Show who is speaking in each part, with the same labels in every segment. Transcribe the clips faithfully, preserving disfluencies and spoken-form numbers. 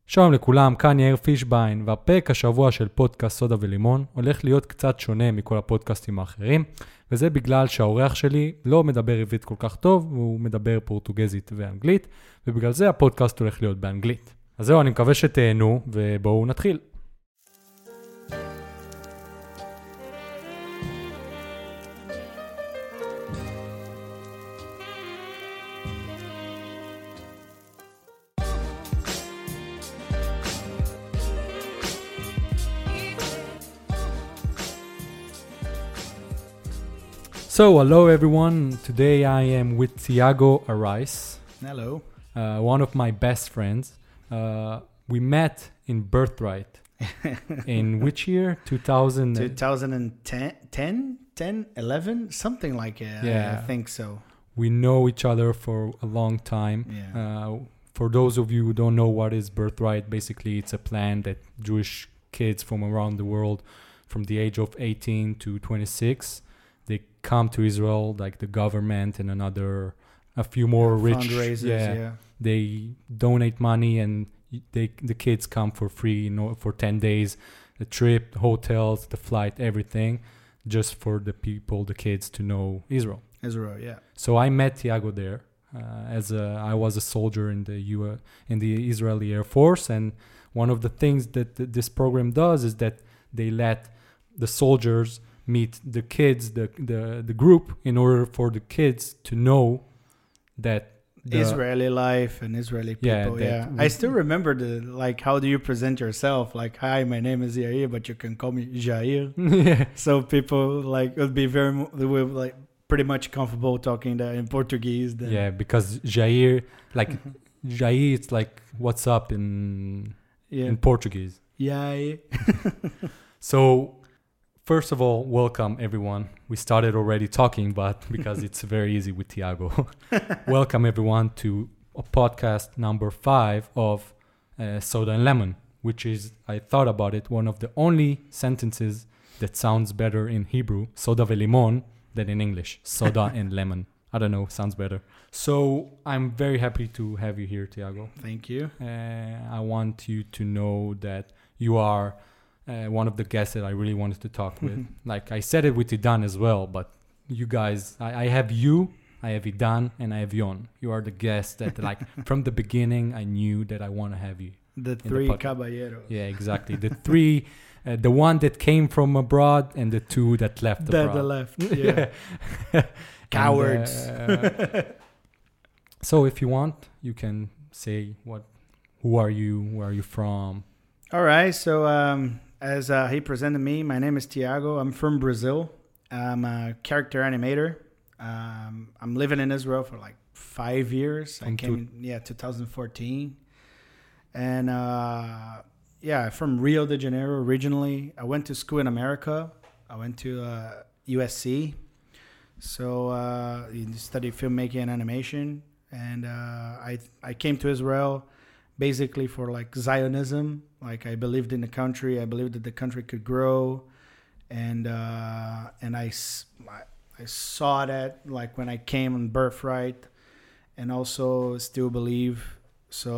Speaker 1: שלום לכולם, כאן יאיר פישביין, והפרק השבוע של פודקאסט סודה ולימון הולך להיות קצת שונה מכל הפודקאסטים האחרים, וזה בגלל שהאורח שלי לא מדבר עברית כל כך טוב, והוא מדבר פורטוגזית ואנגלית, ובגלל זה הפודקאסט הולך להיות באנגלית. אז זהו, אני מקווה שתהנו, ובואו נתחיל. So, hello everyone. Today I am with Thiago Arraiz.
Speaker 2: Hello.
Speaker 1: Uh, one of my best friends. Uh, we met in Birthright. In which year? two thousand
Speaker 2: twenty ten, ten, ten, eleven, something like it.
Speaker 1: Yeah.
Speaker 2: I think so.
Speaker 1: We know each other for a long time.
Speaker 2: Yeah.
Speaker 1: Uh, for those of you who don't know what is Birthright, basically it's a plan that Jewish kids from around the world, from the age of eighteen to twenty-six, they come to Israel, like the government and another, a few more
Speaker 2: Yeah,
Speaker 1: rich.
Speaker 2: fundraisers, yeah.
Speaker 1: They donate money and they the kids come for free, you know, for ten days, the trip, the hotels, the flight, everything, just for the people, the kids to know Israel.
Speaker 2: Israel, yeah.
Speaker 1: So I met Thiago there uh, as a, I was a soldier in the U in the Israeli Air Force, and one of the things that th- this program does is that they let the soldiers meet the kids, the, the the group, in order for the kids to know that the,
Speaker 2: Israeli life and Israeli
Speaker 1: Yeah,
Speaker 2: people,
Speaker 1: that
Speaker 2: yeah.
Speaker 1: we-
Speaker 2: I still remember the, like, how do you present yourself? Like, hi, my name is Yair, but you can call me Jair.
Speaker 1: yeah,
Speaker 2: So people, like, would be very, mo- they were, like, pretty much comfortable talking that in Portuguese. Then.
Speaker 1: yeah, because Jair, like Jair, it's like what's up in
Speaker 2: Yeah.
Speaker 1: in Portuguese.
Speaker 2: Yair.
Speaker 1: So, first of all, welcome everyone. We started already talking, but because it's very easy with Thiago. Welcome everyone to a podcast number five of uh, Soda and Lemon, which is, I thought about it, one of the only sentences that sounds better in Hebrew, Soda velimon, than in English, Soda and Lemon. I don't know, sounds better. So, I'm very happy to have you here, Thiago.
Speaker 2: Thank you.
Speaker 1: Uh, I want you to know that you are uh, one of the guests that I really wanted to talk with. Like I said it with Idan as well, but you guys, I, I have you, I have Idan, and I have Yon. You are the guests that, like, from the beginning, I knew that I want to have you.
Speaker 2: The
Speaker 1: the
Speaker 2: three
Speaker 1: podcast.
Speaker 2: caballeros.
Speaker 1: Yeah, exactly. The three, uh, the one that came from abroad, and the two that left
Speaker 2: The,
Speaker 1: abroad.
Speaker 2: the left. Yeah.
Speaker 1: And,
Speaker 2: Cowards.
Speaker 1: uh, so if you want, you can say what, who are you, where are you from?
Speaker 2: All right. So um, as uh, he presented me, my name is Thiago. I'm from Brazil. I'm a character animator. Um, I'm living in Israel for like five years. I
Speaker 1: From
Speaker 2: came,
Speaker 1: two-
Speaker 2: yeah, twenty fourteen. And uh, yeah, from Rio de Janeiro originally. I went to school in America. I went to uh, U S C. So uh, I studied filmmaking and animation. And uh, I I came to Israel basically for like Zionism. Like I believed in the country. I believed that the country could grow. And uh, and I, s- I- I saw that like when I came on Birthright, and also still believe. So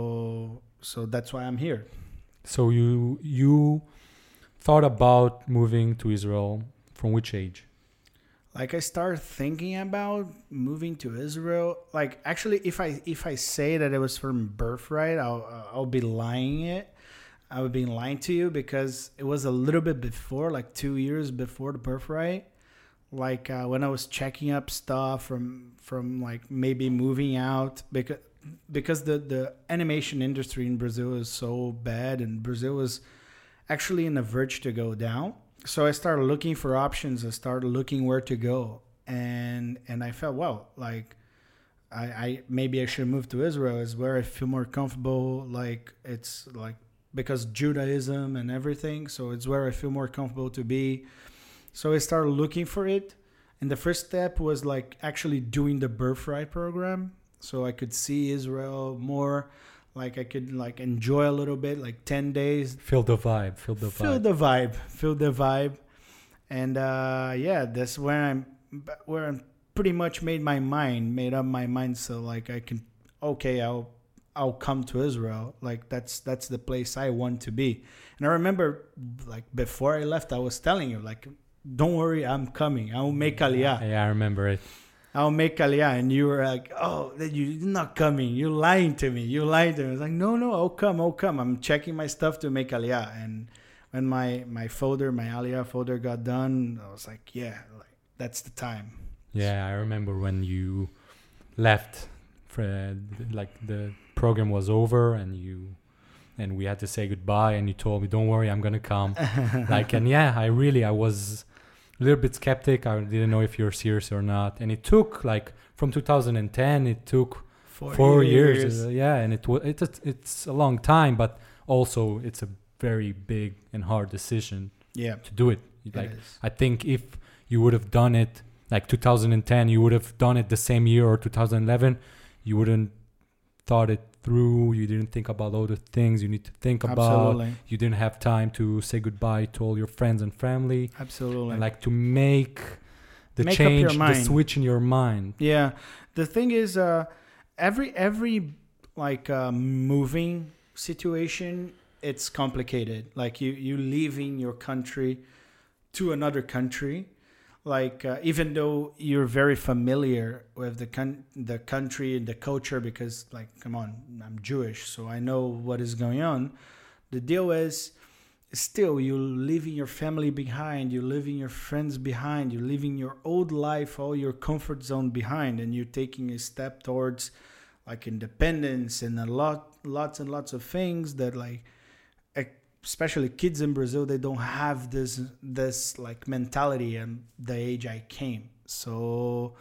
Speaker 2: so that's why I'm here.
Speaker 1: So you you thought about moving to Israel from which age?
Speaker 2: Like I started thinking about moving to Israel. Like actually, if I if I say that it was from Birthright, I'll I'll be lying it. I would be lying to you because it was a little bit before, like two years before the Birthright. Like uh, when I was checking up stuff from from like maybe moving out because because the the animation industry in Brazil is so bad, and Brazil was actually in the verge to go down. So I started looking for options. I started looking where to go, and and I felt, well, like I, I maybe I should move to Israel. Is where I feel more comfortable. Like it's like because Judaism and everything. So it's where I feel more comfortable to be. So I started looking for it, and the first step was like actually doing the Birthright program, so I could see Israel more. Like I could like enjoy a little bit, like ten days.
Speaker 1: Feel the vibe, feel the
Speaker 2: Feel
Speaker 1: vibe.
Speaker 2: the vibe, feel the vibe, and uh, yeah, that's where I'm, where I'm pretty much made my mind, made up my mind. So like I can, okay, I'll I'll come to Israel. Like that's that's the place I want to be. And I remember, like before I left, I was telling you, like, don't worry, I'm coming. I'll make Aliyah.
Speaker 1: Yeah, I remember it.
Speaker 2: I'll make Aliyah. And you were like, oh, you're not coming. You're lying to me. You're lying to me. I was like, no, no, I'll come. I'll come. I'm checking my stuff to make Aliyah. And when my, my folder, my Aliyah folder got done, I was like, yeah, like that's the time.
Speaker 1: Yeah, I remember when you left, for, like the program was over and you and we had to say goodbye and you told me, don't worry, I'm gonna come. Like, and yeah, I really I was a little bit skeptic. I didn't know if you're serious or not. And it took like from two thousand ten, it took four, four years, years. Uh, yeah, and it was it's it's a long time, but also it's a very big and hard decision.
Speaker 2: Yeah,
Speaker 1: to do it. Like, I think if you would have done it like two thousand ten, you would have done it the same year, or two thousand eleven, you wouldn't thought it through. You didn't think about all the things you need to think about.
Speaker 2: Absolutely.
Speaker 1: You didn't have time to say goodbye to all your friends and family.
Speaker 2: Absolutely.
Speaker 1: And like to make the
Speaker 2: make
Speaker 1: change, the switch in your mind.
Speaker 2: Yeah. The thing is, uh, every every like uh, moving situation, it's complicated. Like you you leaving your country to another country. Like uh, even though you're very familiar with the con- the country and the culture, because like, come on, I'm Jewish, so I know what is going on. The deal is, still you're leaving your family behind, you're leaving your friends behind, you're leaving your old life, all your comfort zone behind, and you're taking a step towards like independence and a lot, lots and lots of things that like. Especially kids in Brazil, they don't have this this like mentality and the age I came. So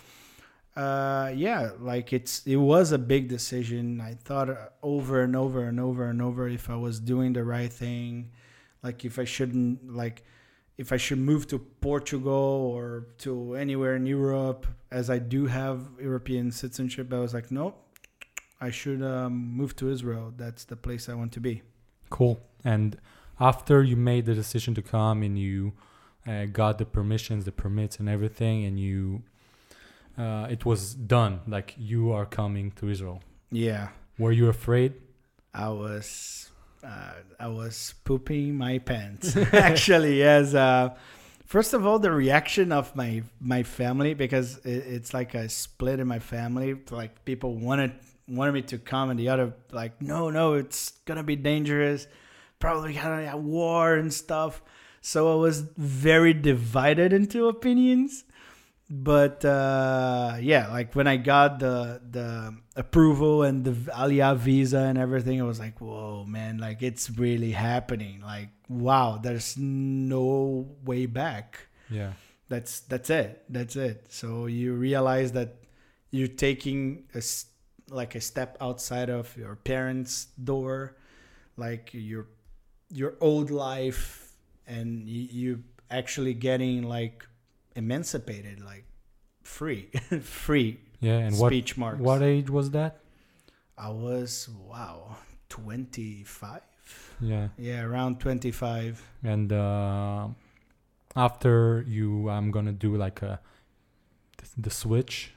Speaker 2: uh, yeah, like it's it was a big decision. I thought over and over and over and over if I was doing the right thing, like if I shouldn't like if I should move to Portugal or to anywhere in Europe, as I do have European citizenship. I was like, nope, I should um, move to Israel. That's the place I want to be.
Speaker 1: Cool. And after you made the decision to come and you uh, got the permissions, the permits and everything, and you, uh, it was done, like you are coming to Israel.
Speaker 2: Yeah.
Speaker 1: Were you afraid?
Speaker 2: I was, uh, I was pooping my pants. Actually, yes. Uh, first of all, the reaction of my, my family, because it, it's like a split in my family. Like people wanted, wanted me to come and the other like, no, no, it's going to be dangerous. Probably kind of a war and stuff. So I was very divided into opinions. But uh, yeah, like when I got the the approval and the Aliyah visa and everything, I was like, whoa, man, like it's really happening. Like, wow, there's no way back.
Speaker 1: Yeah.
Speaker 2: That's that's it. That's it. So you realize that you're taking a, like a step outside of your parents' door, like you're your old life, and you, you actually getting like emancipated, like free, free.
Speaker 1: Yeah, and
Speaker 2: speech
Speaker 1: what,
Speaker 2: marks.
Speaker 1: What age was that?
Speaker 2: I was wow, twenty-five.
Speaker 1: Yeah,
Speaker 2: yeah, around twenty-five.
Speaker 1: And uh, after you, I'm gonna do like a the, the switch.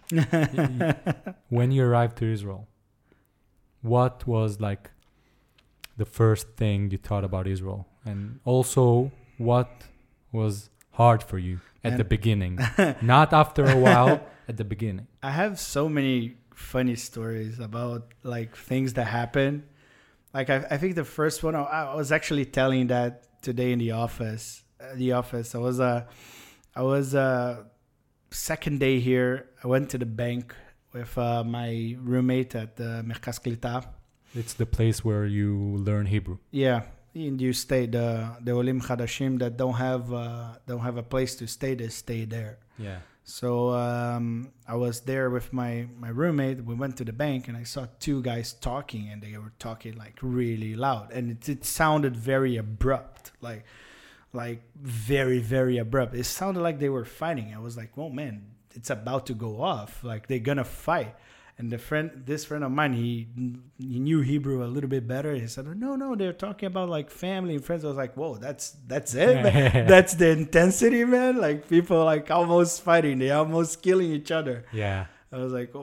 Speaker 1: When you arrived to Israel, what was like the first thing you thought about Israel? And also, what was hard for you at and the beginning? Not after a while, at the beginning.
Speaker 2: I have so many funny stories about like things that happen. Like I, I think the first one, I, I was actually telling that today in the office. Uh, the office. I was uh, I was uh, second day here. I went to the bank with uh, my roommate at the Merkaz Klita.
Speaker 1: It's the place where you learn Hebrew.
Speaker 2: Yeah, and you stay the the Olim Chadashim that don't have uh, don't have a place to stay. They stay there.
Speaker 1: Yeah.
Speaker 2: So um, I was there with my my roommate. We went to the bank and I saw two guys talking, and they were talking like really loud, and it it sounded very abrupt, like like very very abrupt. It sounded like they were fighting. I was like, oh man, it's about to go off. Like they're gonna fight. And the friend, this friend of mine, he he knew Hebrew a little bit better. He said, "No, no, they're talking about like family and friends." I was like, "Whoa, that's that's it, man. That's the intensity, man. Like people like almost fighting, they almost killing each other."
Speaker 1: Yeah.
Speaker 2: I was like, "Oh,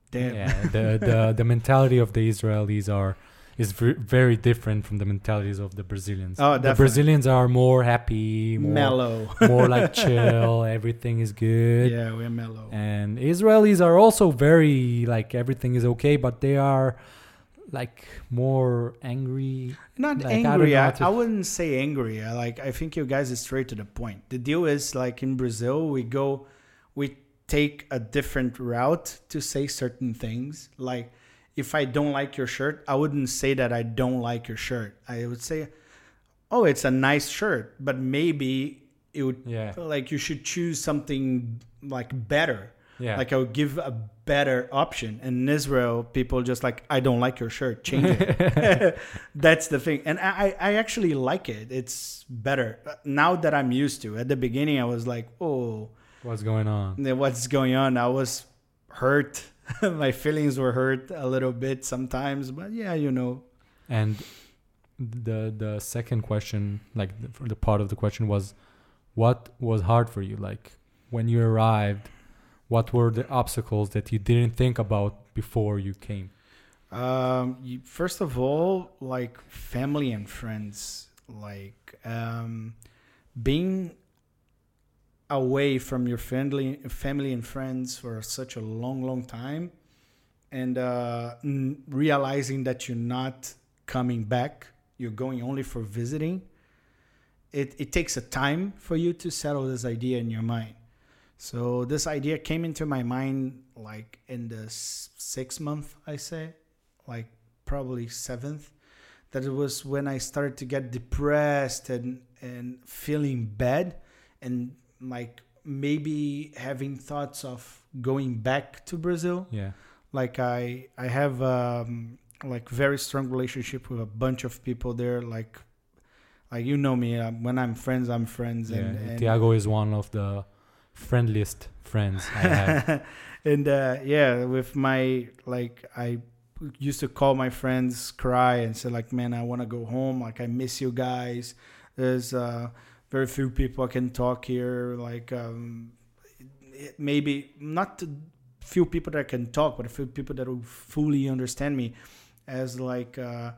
Speaker 2: Damn.
Speaker 1: Yeah, the, the the mentality of the Israelis are is ver- very different from the mentalities of the Brazilians.
Speaker 2: Oh,
Speaker 1: the
Speaker 2: definitely.
Speaker 1: Brazilians are more happy, more,
Speaker 2: Mellow.
Speaker 1: more like chill. Everything is good.
Speaker 2: Yeah, we're mellow.
Speaker 1: And Israelis are also very like everything is okay, but they are like more angry.
Speaker 2: Not
Speaker 1: Like, I don't
Speaker 2: angry.
Speaker 1: know
Speaker 2: I,
Speaker 1: how to-
Speaker 2: I wouldn't say angry. I like. I think you guys is straight to the point. The deal is like in Brazil, we go, we take a different route to say certain things. Like, if I don't like your shirt, I wouldn't say that I don't like your shirt. I would say, oh, it's a nice shirt, but maybe it would
Speaker 1: Yeah,
Speaker 2: like you should choose something like better.
Speaker 1: yeah.
Speaker 2: Like I would give a better option. And in Israel, people just like, I don't like your shirt, change it. That's the thing. And I, I actually like it. It's better. Now that I'm used to. At the beginning, I was like, oh,
Speaker 1: What's going on?
Speaker 2: what's going on? I was hurt. My feelings were hurt a little bit sometimes. But yeah, you know.
Speaker 1: And the the second question, like the, the part of the question was, what was hard for you? Like when you arrived, what were the obstacles that you didn't think about before you came?
Speaker 2: Um, you, first of all, like family and friends, like um, being away from your family, family and friends for such a long, long time, and uh, n- realizing that you're not coming back, you're going only for visiting. It it takes a time for you to settle this idea in your mind. So this idea came into my mind like in the s- sixth month, I say, like probably seventh. That it was when I started to get depressed and, and feeling bad and like maybe having thoughts of going back to Brazil.
Speaker 1: Yeah,
Speaker 2: Like I, I have um, like very strong relationship with a bunch of people there. Like, like you know me, uh, when I'm friends, I'm friends.
Speaker 1: yeah.
Speaker 2: And, and
Speaker 1: Tiago is one of the friendliest friends I have.
Speaker 2: and uh, yeah, with my like, I used to call my friends, cry, and say like, "Man, I want to go home. Like, I miss you guys. There's uh, very few people I can talk here. Like, um, it, maybe not to few people that can talk, but a few people that will fully understand me." As like, uh,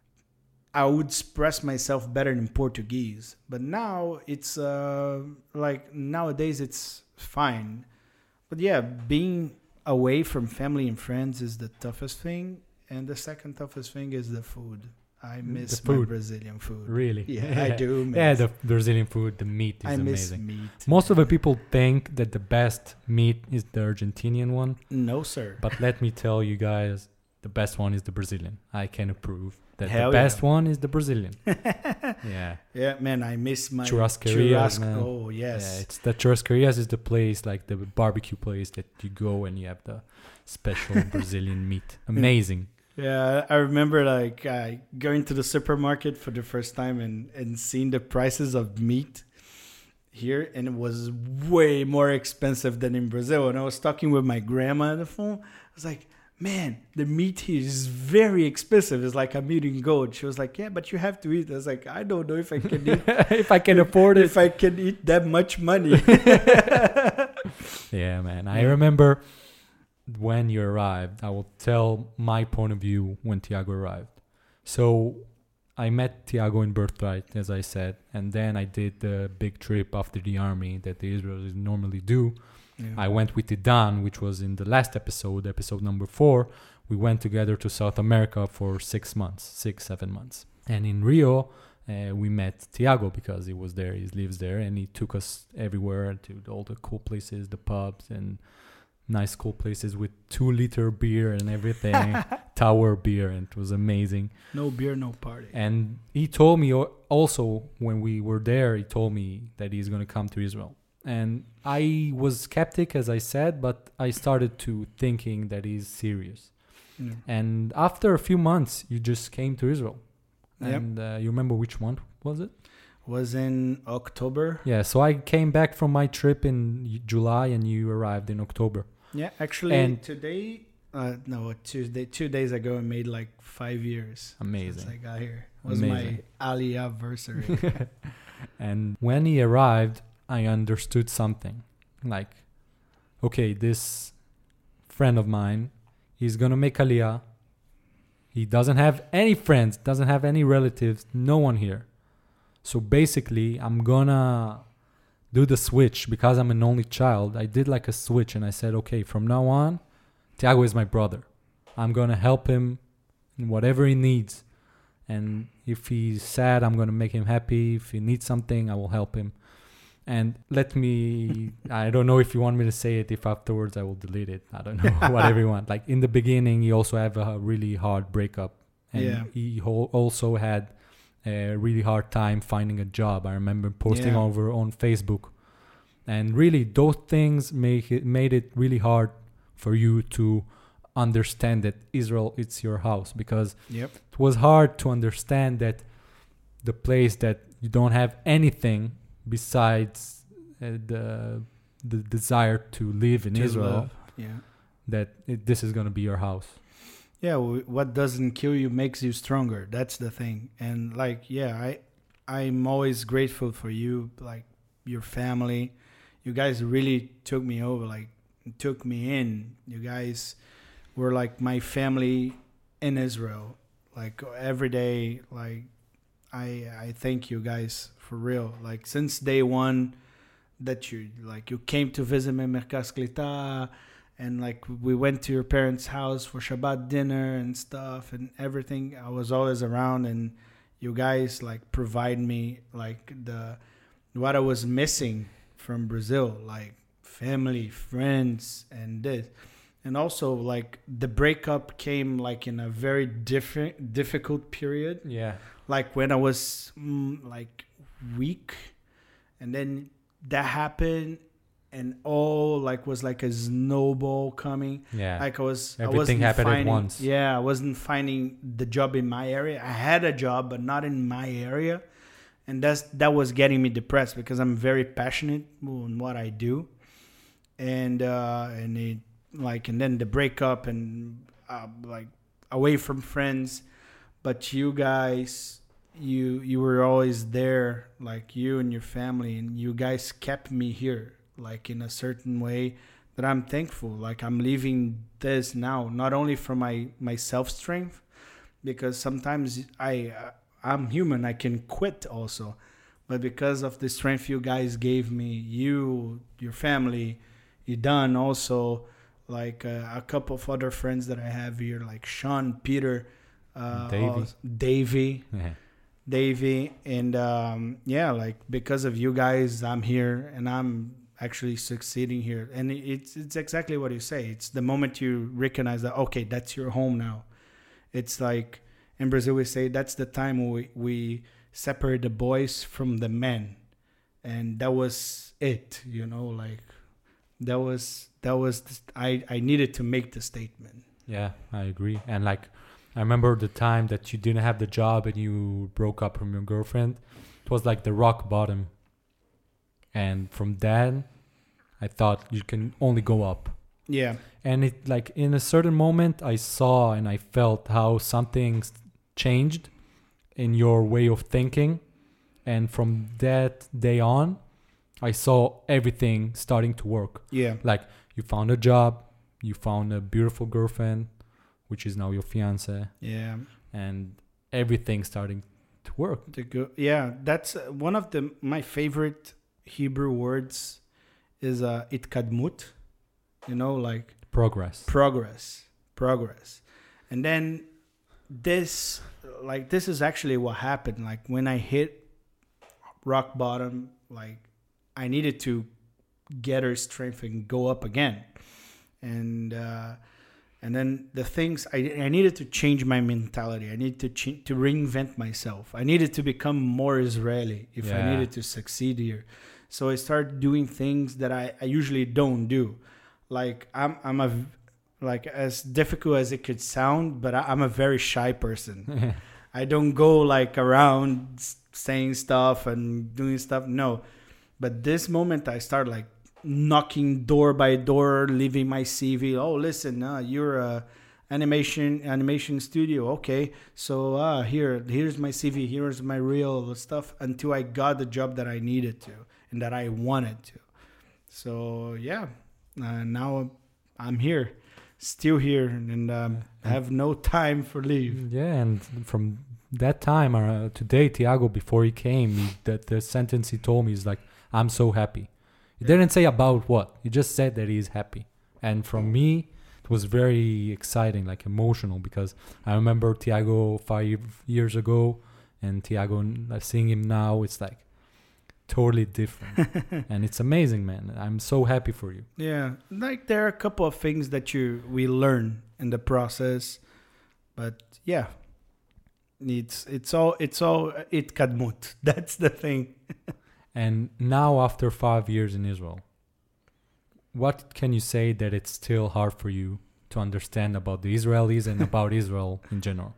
Speaker 2: I would express myself better in Portuguese, but now it's uh, like nowadays it's fine. But yeah, being away from family and friends is the toughest thing, and the second toughest thing is the food. I miss
Speaker 1: The
Speaker 2: my
Speaker 1: food.
Speaker 2: Brazilian food.
Speaker 1: Really?
Speaker 2: Yeah, I do. Miss.
Speaker 1: Yeah, the Brazilian food, the meat is
Speaker 2: I miss
Speaker 1: amazing.
Speaker 2: meat.
Speaker 1: Most of the people think that the best meat is the Argentinian one,
Speaker 2: No, sir.
Speaker 1: but let me tell you guys, the best one is the Brazilian. I can approve that
Speaker 2: Hell
Speaker 1: the
Speaker 2: yeah.
Speaker 1: best one is the Brazilian. Yeah.
Speaker 2: Yeah, man, I miss my
Speaker 1: Churrascarias,
Speaker 2: churrasco.
Speaker 1: man.
Speaker 2: Oh, yes.
Speaker 1: Yeah, it's the churrascarias is the place, like the barbecue place that you go and you have the special Brazilian meat. Amazing.
Speaker 2: Yeah, I remember like uh, going to the supermarket for the first time and, and seeing the prices of meat here, and it was way more expensive than in Brazil. And I was talking with my grandma on the phone. I was like, man, the meat here is very expensive. It's like I'm eating gold. She was like, yeah, but you have to eat. I was like, I don't know if I can eat
Speaker 1: If I can afford it.
Speaker 2: if I can eat that much money.
Speaker 1: Yeah, man. I
Speaker 2: Yeah.
Speaker 1: remember when you arrived. I will tell my point of view when Tiago arrived. So I met Tiago in Birthright, as I said, and then I did the big trip after the army that the Israelis normally do.
Speaker 2: Yeah.
Speaker 1: I went with Idan, which was in the last episode, episode number four. We went together to South America for six months, six, seven months. And in Rio, uh, we met Tiago because he was there, he lives there, and he took us everywhere to all the cool places, the pubs and nice cool places with two liter beer and everything, tower beer, and it was amazing.
Speaker 2: No beer, no party.
Speaker 1: And he told me al- also when we were there, he told me that he's going to come to Israel. And I was skeptic, as I said, but I started to thinking that he's serious.
Speaker 2: Yeah.
Speaker 1: And after a few months, you just came to Israel.
Speaker 2: Yep.
Speaker 1: And uh, you remember which month was it?
Speaker 2: Was in October.
Speaker 1: Yeah, so I came back from my trip in July and you arrived in October.
Speaker 2: Yeah, actually,
Speaker 1: And-
Speaker 2: today, uh, no, Tuesday, two days ago, I made like five years
Speaker 1: Amazing.
Speaker 2: since I got here. It was
Speaker 1: Amazing.
Speaker 2: my Aliyah anniversary.
Speaker 1: And when he arrived, I understood something. Like, okay, this friend of mine, He's gonna make Aliyah. He doesn't have any friends, doesn't have any relatives, no one here. So basically, I'm gonna do the switch because I'm an only child. I did like a switch and I said, okay, from now on, Tiago is my brother. I'm gonna help him in whatever he needs. And if he's sad, I'm gonna make him happy. If he needs something, I will help him. And let me, I don't know if you want me to say it, if afterwards I will delete it. I don't know, whatever you want. Like in the beginning, he also had a really hard breakup. And
Speaker 2: Yeah.
Speaker 1: he ho- also had a really hard time finding a job. I remember posting
Speaker 2: Yeah.
Speaker 1: over on Facebook. And really, those things make it, made it really hard for you to understand that Israel, it's your house. Because
Speaker 2: Yep.
Speaker 1: it was hard to understand that the place that you don't have anything besides uh, the the desire to live in
Speaker 2: To
Speaker 1: Israel,
Speaker 2: love. Yeah.
Speaker 1: that it, this is going to be your house.
Speaker 2: Yeah, w- what doesn't kill you makes you stronger. That's the thing. And like, yeah, I I'm always grateful for you, like your family. You guys really took me over, like took me in. You guys were like my family in Israel. Like every day, like I I thank you guys for real. Like since day one that you like you came to visit me in Merkaz Klita, and like we went to your parents' house for Shabbat dinner and stuff and everything. I was always around, and you guys like provide me like the what I was missing from Brazil, like family, friends, and this. And also like the breakup came like in a very different difficult period,
Speaker 1: Yeah.
Speaker 2: like when I was mm, like weak, and then that happened, and all like was like a snowball coming.
Speaker 1: Yeah.
Speaker 2: Like I was, I
Speaker 1: Everything
Speaker 2: wasn't
Speaker 1: happened at
Speaker 2: finding,
Speaker 1: once.
Speaker 2: Yeah, I wasn't finding the job in my area. I had a job, but not in my area, and that's that was getting me depressed because I'm very passionate in what I do, and uh, and it like and then the breakup and uh, like away from friends, but you guys, you you were always there, like you and your family, and you guys kept me here, like in a certain way that I'm thankful. Like I'm leaving this now, not only for my my self strength, because sometimes I uh, I'm human, I can quit also, but because of the strength you guys gave me, you, your family, you done also, like uh, a couple of other friends that I have here, like Sean, Peter, uh,
Speaker 1: Davey.
Speaker 2: also- Davey.
Speaker 1: Yeah.
Speaker 2: Davey, and um, yeah, like because of you guys, I'm here and I'm actually succeeding here. And it's it's exactly what you say. It's the moment you recognize that, okay, that's your home now. It's like in Brazil we say that's the time we we separate the boys from the men, and that was it. You know, like that was that was the, I I needed to make the statement.
Speaker 1: Yeah, I agree. And like, I remember the time that you didn't have the job and you broke up from your girlfriend. It was like the rock bottom. And from then, I thought you can only go up.
Speaker 2: Yeah,
Speaker 1: And it like in a certain moment, I saw and I felt how something changed in your way of thinking. And from that day on, I saw everything starting to work.
Speaker 2: yeah,
Speaker 1: Like you found a job, you found a beautiful girlfriend, which is now your fiance,
Speaker 2: yeah.
Speaker 1: and everything starting to work.
Speaker 2: The go- yeah, that's uh, one of the my favorite Hebrew words is uh, itkadmut, you know, like
Speaker 1: Progress.
Speaker 2: progress, progress. And then this, like this is actually what happened. Like when I hit rock bottom, like I needed to gather strength and go up again. And uh, and then the things I, I needed to change my mentality. I needed to ch- to reinvent myself. I needed to become more Israeli if I
Speaker 1: Yeah.
Speaker 2: needed to succeed here. So I started doing things that I, I usually don't do. Like I'm I'm a like as difficult as it could sound, but I, I'm a very shy person. I don't go like around s- saying stuff and doing stuff. No, but this moment I start like knocking door by door, leaving my C V. Oh, listen, uh, you're a animation animation studio. Okay, so uh, here here's my C V. Here's my real stuff. Until I got the job that I needed to and that I wanted to. So yeah, uh, now I'm here. still here and um, have no time for leave.
Speaker 1: Yeah, and from that time uh, today, Thiago, before he came, he, that the sentence he told me is like, "I'm so happy." He didn't say about what. He just said that he's happy. And from me, it was very exciting, like emotional, because I remember Thiago five years ago, and Thiago, uh, seeing him now, it's like totally different. And it's amazing, man. I'm so happy for you.
Speaker 2: Yeah, like there are a couple of things that you we learn in the process, but yeah, it's it's all it's all it kadmut. That's the thing.
Speaker 1: And now, after five years in Israel, what can you say that it's still hard for you to understand about the Israelis and about Israel in general?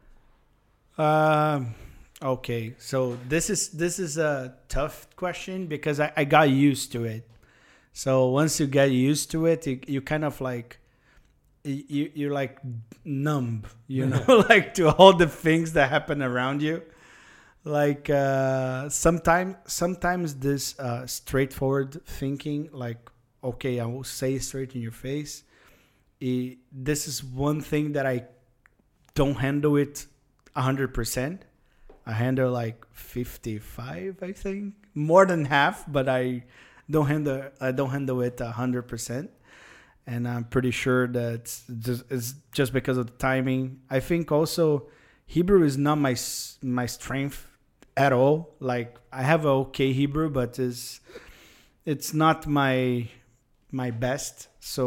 Speaker 2: Um. Okay, so this is this is a tough question because I, I got used to it. So once you get used to it, you, you kind of like you you're like numb, you know, like to all the things that happen around you. Like uh, sometimes sometimes this uh, straightforward thinking, like okay, I will say straight in your face. It, this is one thing that I don't handle it a hundred percent. I handle like fifty-five, I think, more than half, but I don't handle I don't handle it a hundred percent, and I'm pretty sure that it's just, it's just because of the timing. I think also Hebrew is not my my strength at all. Like I have a okay Hebrew, but it's it's not my my best.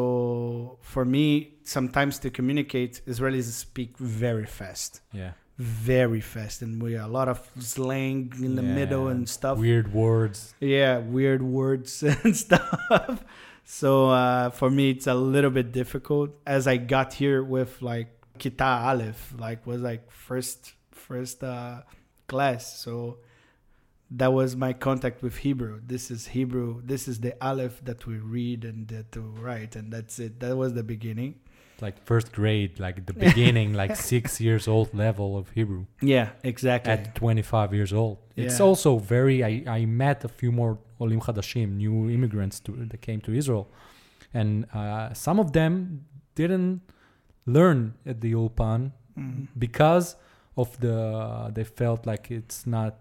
Speaker 2: So for me, sometimes to communicate, Israelis speak very fast.
Speaker 1: Yeah.
Speaker 2: Very fast, and we a lot of slang in the
Speaker 1: Yeah,
Speaker 2: middle and stuff.
Speaker 1: Weird words.
Speaker 2: Yeah, weird words and stuff. So uh, for me, it's a little bit difficult. As I got here with like Kita Aleph, like was like first first uh, class. So that was my contact with Hebrew. This is Hebrew. This is the Aleph that we read and that to write, and that's it. That was the beginning.
Speaker 1: Like first grade, like the beginning, like six years old level of Hebrew.
Speaker 2: Yeah, exactly.
Speaker 1: At twenty-five years old. It's
Speaker 2: Yeah.
Speaker 1: also very, I, I met a few more Olim Chadashim, new immigrants to, that came to Israel. And uh, some of them didn't learn at the Ulpan
Speaker 2: Mhm.
Speaker 1: because of the, they felt like it's not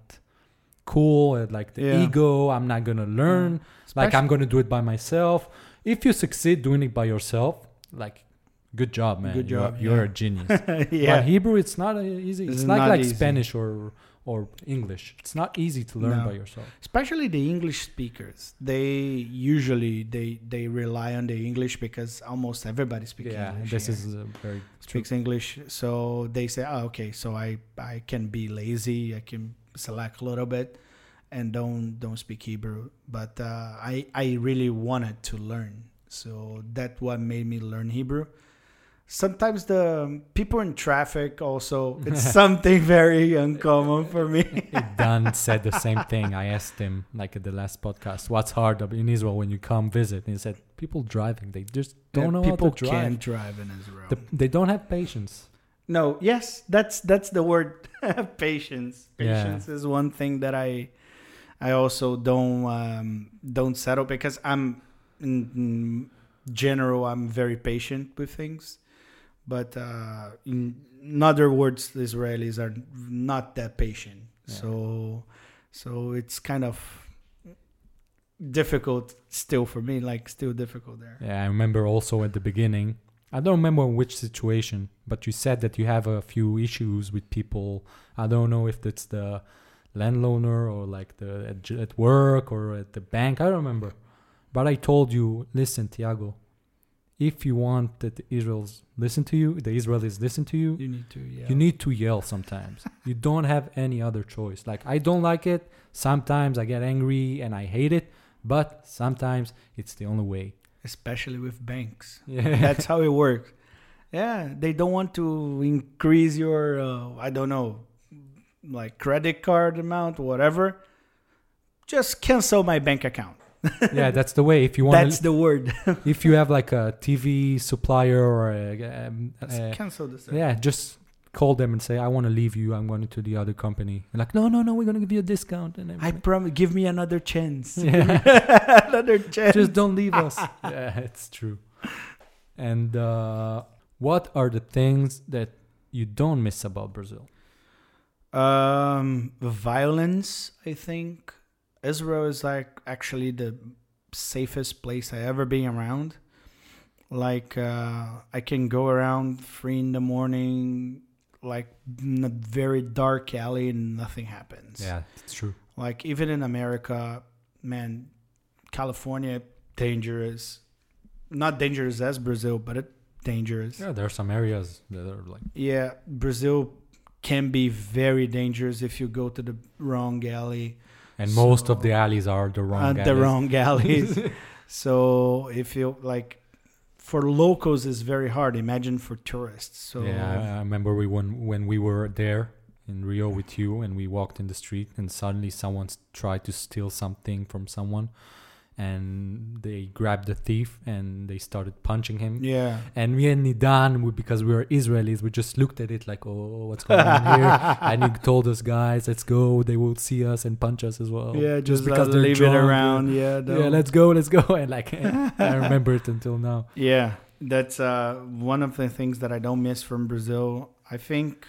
Speaker 1: cool, and like the
Speaker 2: Yeah.
Speaker 1: ego, I'm not going to learn, like
Speaker 2: Especially-
Speaker 1: I'm going to do it by myself. If you succeed doing it by yourself, like, good job, man.
Speaker 2: Good
Speaker 1: You are-
Speaker 2: job,
Speaker 1: You're
Speaker 2: yeah.
Speaker 1: a genius.
Speaker 2: yeah.
Speaker 1: But Hebrew, it's not uh, easy. It's,
Speaker 2: It's
Speaker 1: not
Speaker 2: not
Speaker 1: like
Speaker 2: easy.
Speaker 1: Spanish or or English. It's not easy to learn
Speaker 2: No.
Speaker 1: by yourself.
Speaker 2: Especially the English speakers, they usually they they rely on the English because almost everybody speaks
Speaker 1: Yeah,
Speaker 2: English.
Speaker 1: this
Speaker 2: here.
Speaker 1: is uh, very
Speaker 2: speaks English, so they say, "Oh, okay, so I I can be lazy, I can select a little bit, and don't don't speak Hebrew." But uh, I I really wanted to learn, so that's what made me learn Hebrew. Sometimes the people in traffic also, it's something very uncommon for me.
Speaker 1: Dan said the same thing. I asked him, like at the last podcast, what's hard in Israel when you come visit? And he said, people driving, they just don't
Speaker 2: Yeah,
Speaker 1: know
Speaker 2: people
Speaker 1: how to drive.
Speaker 2: can't drive in Israel.
Speaker 1: The, they don't have patience.
Speaker 2: No, yes, that's that's the word. Patience.
Speaker 1: Yeah.
Speaker 2: Patience is one thing that I I also don't um, don't settle because I'm in, in general I'm very patient with things, but uh, in, in other words, the Israelis are not that patient.
Speaker 1: Yeah.
Speaker 2: So so it's kind of difficult still for me, like still difficult there.
Speaker 1: Yeah, I remember also at the beginning, I don't remember which situation, but you said that you have a few issues with people. I don't know if that's the landowner or like the at, at work or at the bank. I don't remember. But I told you, listen, Thiago, if you want that the Israelis listen to you, the Israelis listen to you,
Speaker 2: You need to yeah.
Speaker 1: you need to yell sometimes. You don't have any other choice. Like, I don't like it. Sometimes I get angry and I hate it, but sometimes it's the only way.
Speaker 2: Especially with banks.
Speaker 1: Yeah.
Speaker 2: That's how it works. Yeah, they don't want to increase your, uh, I don't know, like credit card amount, whatever. Just cancel my bank account.
Speaker 1: Yeah, that's the way. If you want,
Speaker 2: That's the word.
Speaker 1: if you have like a T V supplier or a, um,
Speaker 2: Just
Speaker 1: uh,
Speaker 2: cancel this.
Speaker 1: yeah, just call them and say, I want to leave you. I'm going to the other company. And like, no, no, no, we're going to give you a discount. And
Speaker 2: I
Speaker 1: everything.
Speaker 2: promise. Give me another chance.
Speaker 1: Yeah.
Speaker 2: Another chance.
Speaker 1: Just don't leave us. Yeah, it's true. And uh, what are the things that you don't miss about Brazil?
Speaker 2: Um, violence, I think. Israel is like actually the safest place I ever been around. Like uh, I can go around three in the morning, like in a very dark alley, and nothing happens.
Speaker 1: Yeah, it's true.
Speaker 2: Like even in America, man, California dangerous. Not dangerous as Brazil, but it dangerous.
Speaker 1: Yeah, there are some areas that are like.
Speaker 2: Yeah, Brazil can be very dangerous if you go to the wrong alley.
Speaker 1: And
Speaker 2: So-
Speaker 1: most of the alleys are the wrong
Speaker 2: Uh,
Speaker 1: alleys.
Speaker 2: the wrong alleys. So if you like, for locals, it's very hard. Imagine for tourists. So
Speaker 1: Yeah, I remember we when when we were there in Rio with you, and we walked in the street, and suddenly someone s- tried to steal something from someone, and they grabbed the thief and they started punching him.
Speaker 2: yeah.
Speaker 1: And me and Nidan, we, because we were Israelis, we just looked at it like, oh, what's going on here? And he told us, guys, let's go. They will see us and punch us as well.
Speaker 2: Yeah, just,
Speaker 1: because
Speaker 2: because
Speaker 1: they're
Speaker 2: leave
Speaker 1: drunk,
Speaker 2: it
Speaker 1: yeah.
Speaker 2: around. Yeah,
Speaker 1: Yeah,
Speaker 2: don't-
Speaker 1: let's go, let's go. And like, I remember it until now.
Speaker 2: Yeah, that's uh, one of the things that I don't miss from Brazil. I think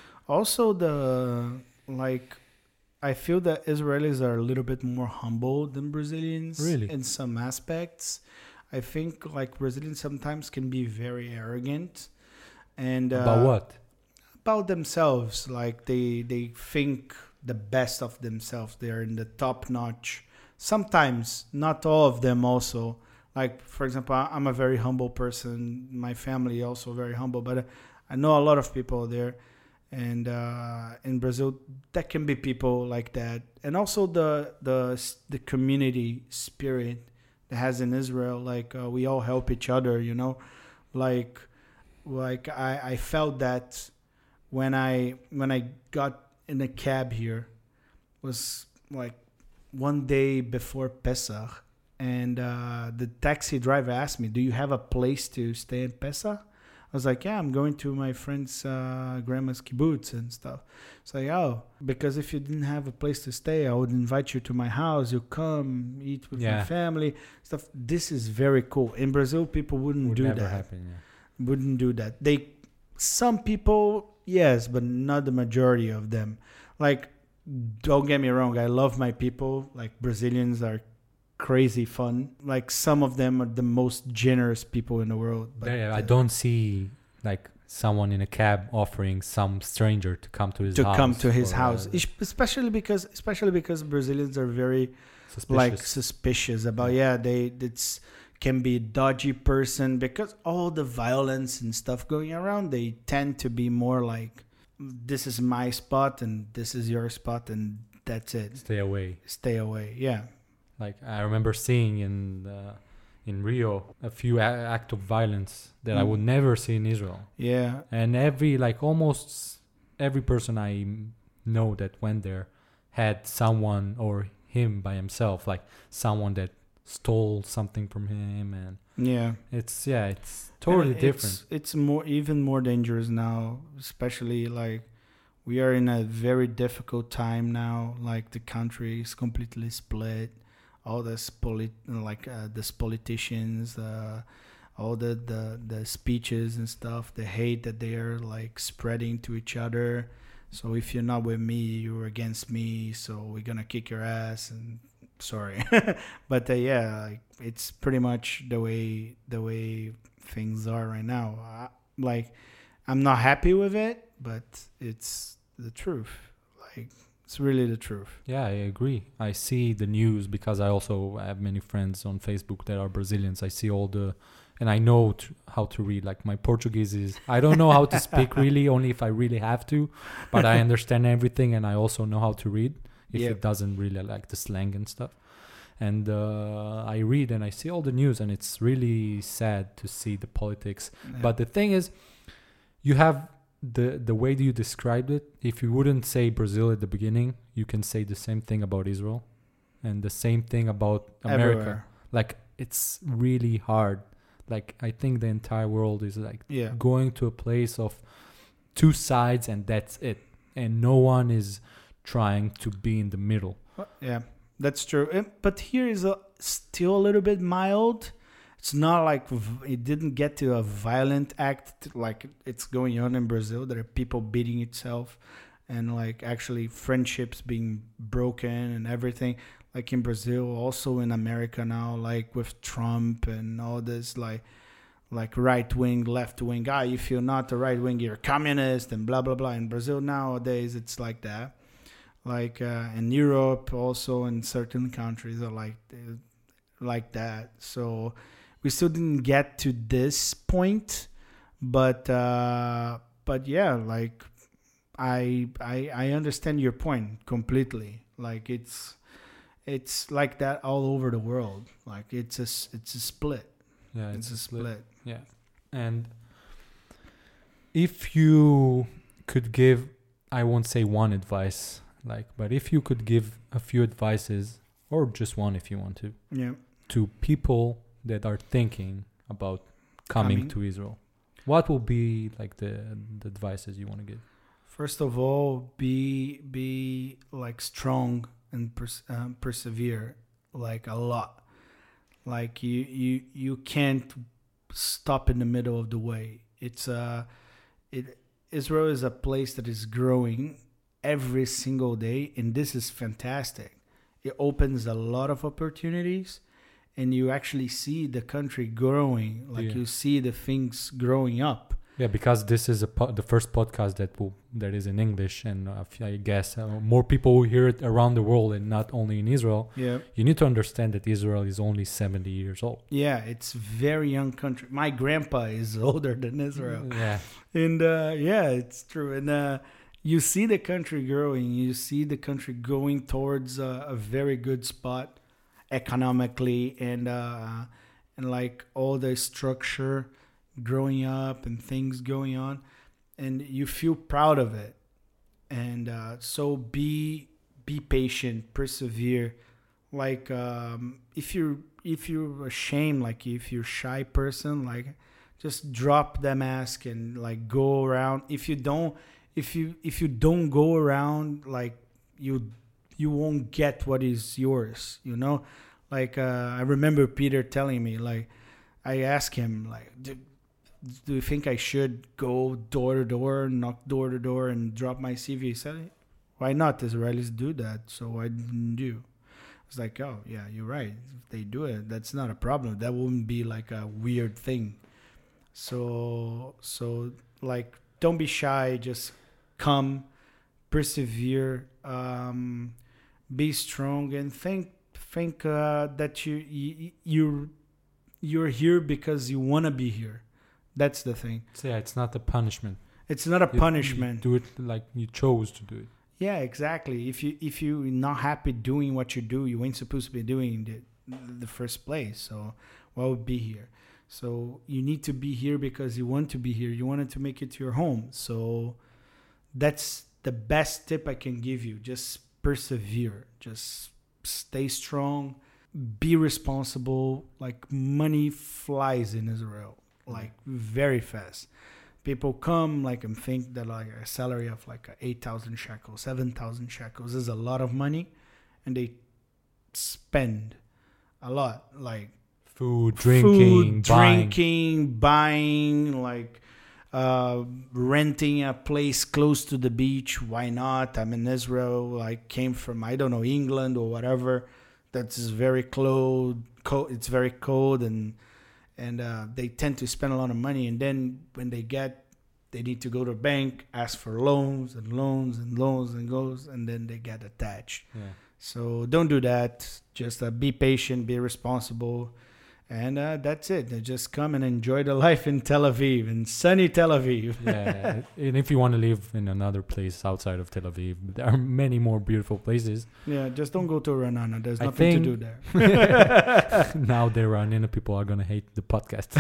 Speaker 2: also the like I feel that Israelis are a little bit more humble than Brazilians
Speaker 1: Really?
Speaker 2: in some aspects. I think like Brazilians sometimes can be very arrogant and uh,
Speaker 1: About what?
Speaker 2: about themselves. Like they they think the best of themselves. They are in the top notch. Sometimes, not all of them also. Like, for example, I- I'm a very humble person. My family also very humble. But uh, I know a lot of people there. And uh, in Brazil, there can be people like that. And also the the the community spirit that has in Israel. Like, uh, we all help each other, you know? Like, like I, I felt that when I when I got in a cab here was like one day before Pesach, and uh, the taxi driver asked me, "Do you have a place to stay in Pesach?" I was like, "Yeah, I'm going to my friend's uh, grandma's kibbutz and stuff." It's like, "Oh, because if you didn't have a place to stay, I would invite you to my house. You come eat with
Speaker 1: Yeah.
Speaker 2: my family stuff." This is very cool. In Brazil, people wouldn't
Speaker 1: Would
Speaker 2: do
Speaker 1: never
Speaker 2: that.
Speaker 1: happen, yeah.
Speaker 2: Wouldn't do that. They, some people, yes, but not the majority of them. Like, don't get me wrong, I love my people. Like, Brazilians are crazy fun. Like, some of them are the most generous people in the world. But
Speaker 1: yeah, yeah, I
Speaker 2: uh,
Speaker 1: don't see like someone in a cab offering some stranger to come to his
Speaker 2: to
Speaker 1: house.
Speaker 2: come to his
Speaker 1: or,
Speaker 2: house,
Speaker 1: uh,
Speaker 2: Es- especially because especially because Brazilians are very
Speaker 1: suspicious.
Speaker 2: like suspicious about yeah they it's can be a dodgy person because all the violence and stuff going around. They tend to be more like, this is my spot and this is your spot and that's it.
Speaker 1: Stay away.
Speaker 2: Stay away. Yeah.
Speaker 1: Like I remember seeing in uh, in Rio a few a- act of violence that I
Speaker 2: Mm.
Speaker 1: would never see in Israel.
Speaker 2: Yeah.
Speaker 1: And every like almost every person I m- know that went there had someone or him by himself, like someone that stole something from him, and
Speaker 2: Yeah.
Speaker 1: it's yeah, it's totally
Speaker 2: And
Speaker 1: different.
Speaker 2: It's, it's more even more dangerous now, especially like we are in a very difficult time now. Like the country is completely split. All this polit like uh, this politicians, uh, all the, the the speeches and stuff, the hate that they are like spreading to each other. So if you're not with me, you're against me. So we're gonna kick your ass. And sorry, but uh, yeah, like, it's pretty much the way the way things are right now. I, like, I'm not happy with it, but it's the truth. Like, it's really the truth.
Speaker 1: Yeah, I agree. I see the news because I also have many friends on Facebook that are Brazilians. I see all the, and I know t- how to read. Like my Portuguese is, I don't know how to speak really, only if I really have to, but I understand everything and I also know how to read if
Speaker 2: Yeah.
Speaker 1: it doesn't really like the slang and stuff. And uh, I read and I see all the news and it's really sad to see the politics.
Speaker 2: Yeah.
Speaker 1: But the thing is, you have the the way that you described it. If you wouldn't say Brazil at the beginning, you can say the same thing about Israel, and the same thing about America.
Speaker 2: Everywhere.
Speaker 1: Like it's really hard. Like I think the entire world is like
Speaker 2: Yeah.
Speaker 1: going to a place of two sides, and that's it. And no one is trying to be in the middle.
Speaker 2: Yeah, that's true. Uh, But here is a, still a little bit mild. it's not like v- it didn't get to a violent act like it's going on in Brazil. There are people beating itself and like actually friendships being broken and everything. Like in Brazil, also in America now, like with Trump and all this, like like right wing, left wing. Ah, if you're not a right wing, you're a communist and blah blah blah. In Brazil nowadays, it's like that. Like uh, in Europe, also in certain countries are like like that. So we still didn't get to this point, but uh, but yeah, like I I I understand your point completely. Like it's. It's like that all over the world. Like it's a it's a split.
Speaker 1: Yeah,
Speaker 2: it's, it's a split. split.
Speaker 1: Yeah, and if you could give, I won't say one advice, like, but if you could give a few advices, or just one if you want to,
Speaker 2: yeah,
Speaker 1: to people that are thinking about coming, coming. to Israel, what will be like the the advices you want to give?
Speaker 2: First of all, be be like strong and pers- um, persevere like a lot. Like you, you, you can't stop in the middle of the way. It's uh, it Israel is a place that is growing every single day, and this is fantastic. It opens a lot of opportunities, and you actually see the country growing. Like yeah. you see the things growing up.
Speaker 1: Yeah, because this is a po- the first podcast that will that is in English, and uh, I guess uh, more people will hear it around the world and not only in Israel.
Speaker 2: Yeah,
Speaker 1: you need to understand that Israel is only seventy years old.
Speaker 2: Yeah, it's a very young country. My grandpa is older than Israel.
Speaker 1: Yeah,
Speaker 2: and uh, yeah, it's true. And uh, you see the country growing. You see the country going towards uh, a very good spot economically, and uh, and like all the structure growing up and things going on, and you feel proud of it. And uh, so be be patient, persevere. Like um, if you're if you're ashamed, like if you're a shy person, like just drop the mask and like go around. If you don't if you if you don't go around, like you you won't get what is yours, you know. Like uh, I remember Peter telling me, like I asked him, like, do you think I should go door to door, knock door to door, and drop my C V? He said, why not? Israelis do that, so I didn't do. It's like, oh, yeah, you're right. If they do it, that's not a problem. That wouldn't be like a weird thing. So, so like, don't be shy. Just come, persevere, um, be strong, and think think uh, that you, you you're you're here because you want to be here. That's the thing.
Speaker 1: So yeah, it's not a punishment.
Speaker 2: It's not a
Speaker 1: you,
Speaker 2: punishment.
Speaker 1: You do it like you chose to do it.
Speaker 2: Yeah, exactly. If you if you're not happy doing what you do, you ain't supposed to be doing in the, the first place. So why would be here? So you need to be here because you want to be here. You wanted to make it your home. So that's the best tip I can give you. Just persevere. Just stay strong. Be responsible. Like money flies in Israel. Like very fast. People come like and think that like a salary of like eight thousand shekels, seven thousand shekels is a lot of money, and they spend a lot, like
Speaker 1: food, drinking,
Speaker 2: food,
Speaker 1: buying.
Speaker 2: drinking, buying, like uh, renting a place close to the beach. Why not? I'm in Israel. Like came from I don't know England or whatever. That's very cold. cold it's very cold and. And uh, they tend to spend a lot of money. And then when they get, they need to go to a bank, ask for loans and loans and loans and goes, and then they get attached.
Speaker 1: Yeah.
Speaker 2: So don't do that. Just uh, be patient, be responsible. And uh, that's it. Just come and enjoy the life in Tel Aviv, in sunny Tel Aviv.
Speaker 1: Yeah, and if you want to live in another place outside of Tel Aviv, there are many more beautiful places.
Speaker 2: Yeah, just don't go to Ra'anana. There's nothing to do there.
Speaker 1: Now the Ra'anana people are going to hate the podcast.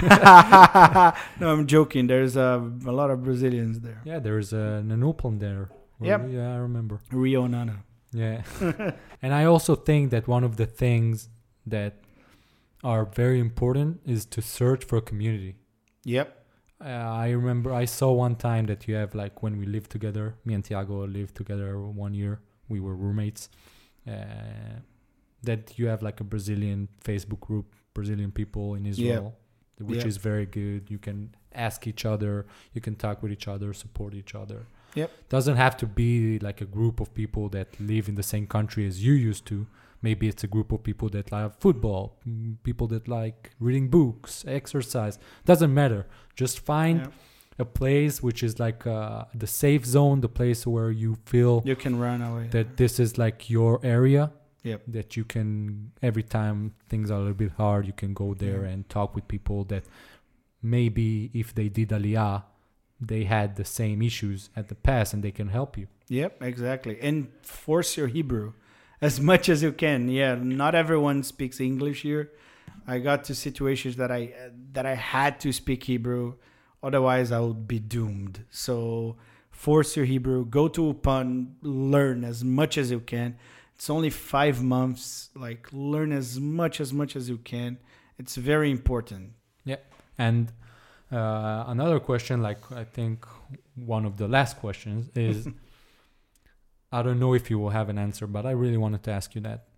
Speaker 2: No, I'm joking. There's uh, a lot of Brazilians there.
Speaker 1: Yeah, there's a Nanuplan there.
Speaker 2: Yep.
Speaker 1: Yeah, I remember.
Speaker 2: Rio Nana.
Speaker 1: Yeah. And I also think that one of the things that are very important is to search for a community.
Speaker 2: Yep.
Speaker 1: Uh, I remember I saw one time that you have like when we lived together, me and Tiago lived together one year. We were roommates. Uh, that you have like a Brazilian Facebook group, Brazilian people in Israel, yeah. which
Speaker 2: yeah.
Speaker 1: is very good. You can ask each other, you can talk with each other, support each other.
Speaker 2: Yep.
Speaker 1: Doesn't have to be like a group of people that live in the same country as you used to. Maybe it's a group of people that like football, people that like reading books, exercise. Doesn't matter. Just find yeah. a place which is like uh, the safe zone, the place where you feel
Speaker 2: you can run away.
Speaker 1: That this is like your area.
Speaker 2: Yep.
Speaker 1: That you can, every time things are a little bit hard, you can go there yeah. and talk with people that maybe if they did Aliyah, they had the same issues at the past and they can help you.
Speaker 2: Yep, exactly. And force your Hebrew as much as you can. Yeah, not everyone speaks English here. I got to situations that I that I had to speak Hebrew, otherwise I would be doomed. So force your Hebrew, go to Upan, learn as much as you can. It's only five months. Like, learn as much as much as you can. It's very important.
Speaker 1: Yeah, and uh, another question, like I think one of the last questions is, I don't know if you will have an answer, but I really wanted to ask you that.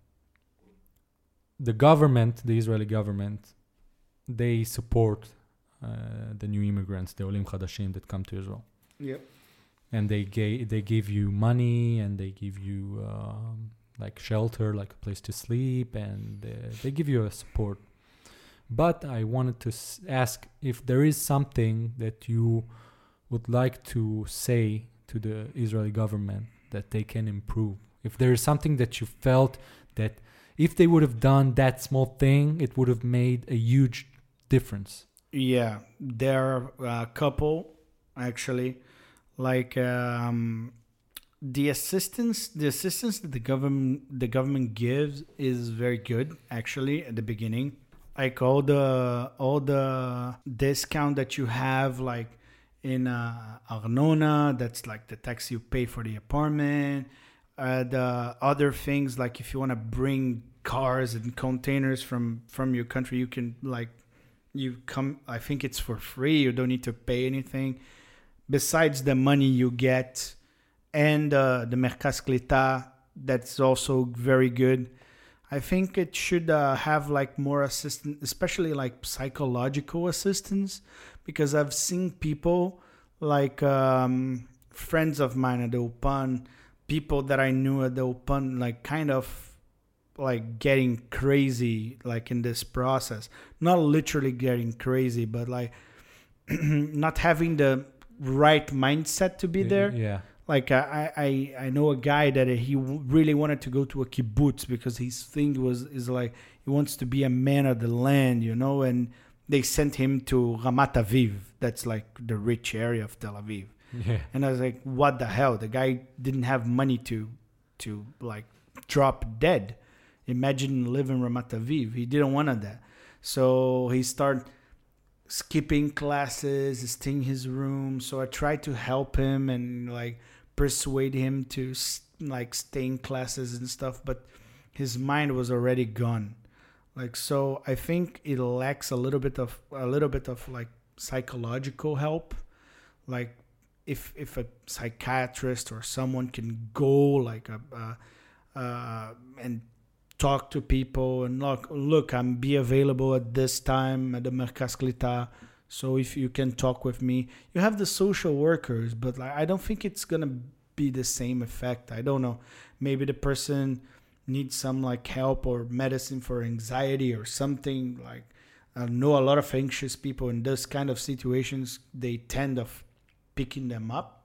Speaker 1: The government, the Israeli government, they support uh, the new immigrants, the Olim Chadashim that come to Israel.
Speaker 2: Yep.
Speaker 1: And they ga- they give you money and they give you um, like shelter, like a place to sleep, and uh, they give you a support. But I wanted to s- ask if there is something that you would like to say to the Israeli government that they can improve. If there is something that you felt that if they would have done that small thing, it would have made a huge difference.
Speaker 2: Yeah, there are a couple, actually. Like um, the assistance, the assistance that the government the government gives is very good. Actually, at the beginning, like all the all the discount that you have, like in uh, Arnona, that's like the tax you pay for the apartment. Uh, the other things, like if you want to bring cars and containers from from your country, you can like you come. I think it's for free. You don't need to pay anything. Besides the money you get and uh, the Merkaz Klita, that's also very good. I think it should uh, have like more assistance, especially like psychological assistance, because I've seen people like um, friends of mine at the Upan, people that I knew at the Upan, like kind of like getting crazy like in this process. Not literally getting crazy, but like not having the right mindset to be there.
Speaker 1: Yeah.
Speaker 2: Like I, I, I know a guy that he really wanted to go to a kibbutz because his thing was is like he wants to be a man of the land, you know. And they sent him to Ramat Aviv, that's like the rich area of Tel Aviv.
Speaker 1: Yeah.
Speaker 2: And I was like, what the hell? The guy didn't have money to, to like drop dead. Imagine living Ramat Aviv. He didn't want that, so he started skipping classes, staying in his room. So I tried to help him and like persuade him to like stay in classes and stuff, but his mind was already gone. Like, so I think it lacks a little bit of a little bit of like psychological help. Like if if a psychiatrist or someone can go like a uh, uh, and talk to people and look, look, I'm be available at this time at the Merkaz Klita. So if you can talk with me, you have the social workers, but like, I don't think it's going to be the same effect. I don't know. Maybe the person needs some like help or medicine for anxiety or something. Like I know a lot of anxious people in this kind of situations, they tend of picking them up.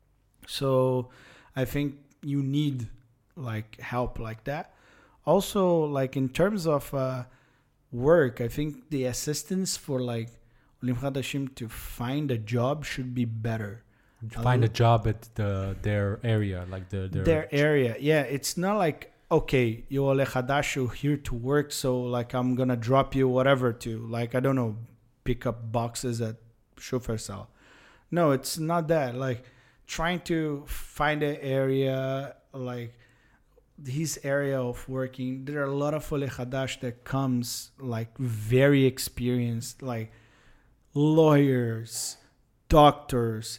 Speaker 2: So I think you need like help like that. Also, like in terms of uh, work, I think the assistance for like Olim Chadashim to find a job should be better.
Speaker 1: Find a job at the their area, like the their,
Speaker 2: their area. Yeah, it's not like, okay, you're Ole Chadash, you're here to work, so like I'm gonna drop you whatever to like I don't know, pick up boxes at Shufersal. No, it's not that. Like trying to find an area like his area of working. There are a lot of Ole Chadash that comes like very experienced, like lawyers, doctors,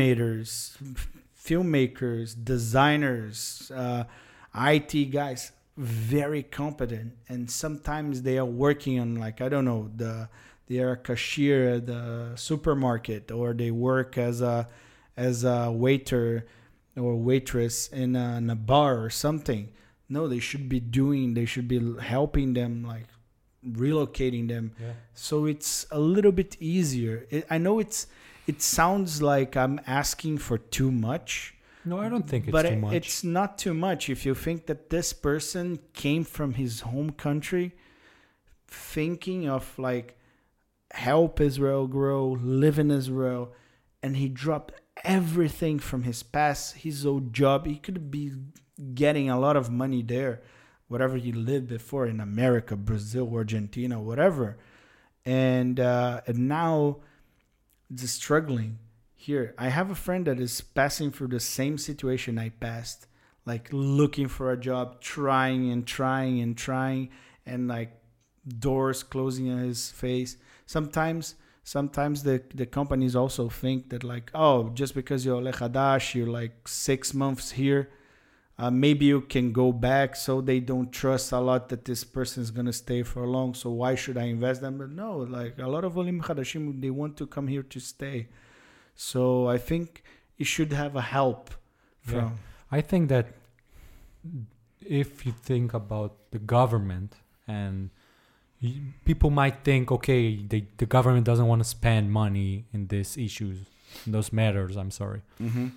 Speaker 2: animators, filmmakers, designers, uh, I T guys, very competent, and sometimes they are working on, like, I don't know, the they are a cashier at the supermarket, or they work as a as a waiter or waitress in a, in a bar or something. No, they should be doing, they should be helping them, like relocating them.
Speaker 1: Yeah.
Speaker 2: So it's a little bit easier. It, I know it's it sounds like I'm asking for too much.
Speaker 1: No, I don't think it's
Speaker 2: but
Speaker 1: too
Speaker 2: it,
Speaker 1: much.
Speaker 2: it's not too much if you think that this person came from his home country thinking of like help Israel grow, live in Israel, and he dropped everything from his past, his old job. He could be getting a lot of money there, whatever he lived before in America, Brazil, Argentina, whatever. And uh, and now just struggling here. I have a friend that is passing through the same situation I passed, like looking for a job, trying and trying and trying, and like doors closing on his face. Sometimes sometimes the, the companies also think that like, oh, just because you're lechadash, you're like six months here, uh, maybe you can go back. So they don't trust a lot that this person is going to stay for long. So why should I invest them? But no, like a lot of olim chadashim, they want to come here to stay. So I think you should have a help from.
Speaker 1: Yeah. I think that if you think about the government, and you, people might think, okay, they, the government doesn't want to spend money in these issues, in those matters, I'm sorry.
Speaker 2: Mm-hmm.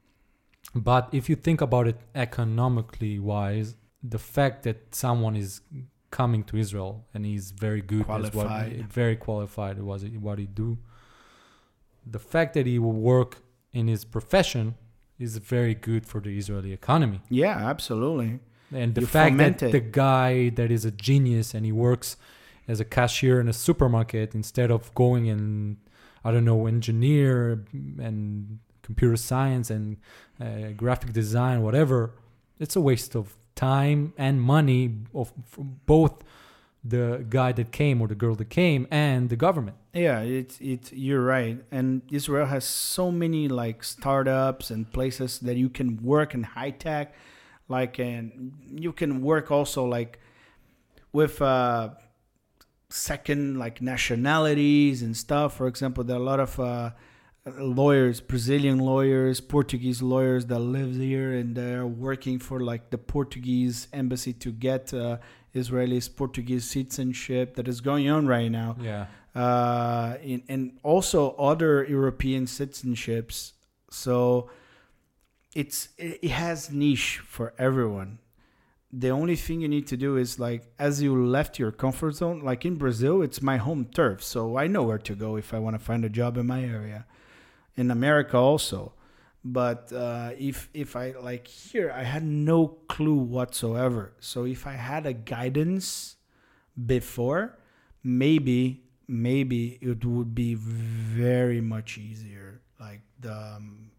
Speaker 1: But if you think about it economically wise, the fact that someone is coming to Israel and he's very good,
Speaker 2: Qualified.
Speaker 1: Is what, very qualified, was what he do. The fact that he will work in his profession is very good for the Israeli economy.
Speaker 2: Yeah, absolutely.
Speaker 1: And the
Speaker 2: You
Speaker 1: fact
Speaker 2: foment
Speaker 1: that
Speaker 2: it.
Speaker 1: the guy that is a genius and he works as a cashier in a supermarket instead of going and, I don't know, engineer and computer science and uh, graphic design, whatever, it's a waste of time and money of both the guy that came or the girl that came and the government.
Speaker 2: Yeah, it's it's you're right. And Israel has so many like startups and places that you can work in high tech, like, and you can work also like with uh, second like nationalities and stuff. For example, there are a lot of uh, lawyers, Brazilian lawyers, Portuguese lawyers that live here, and they're working for like the Portuguese embassy to get uh, Israelis Portuguese citizenship that is going on right now.
Speaker 1: Yeah.
Speaker 2: Uh, in, and also other European citizenships. So it's it, it has niche for everyone. The only thing you need to do is like, as you left your comfort zone, like in Brazil, it's my home turf. So I know where to go if I want to find a job in my area. In America also. But uh, if if I like here, I had no clue whatsoever. So if I had a guidance before, maybe maybe it would be very much easier. Like the um,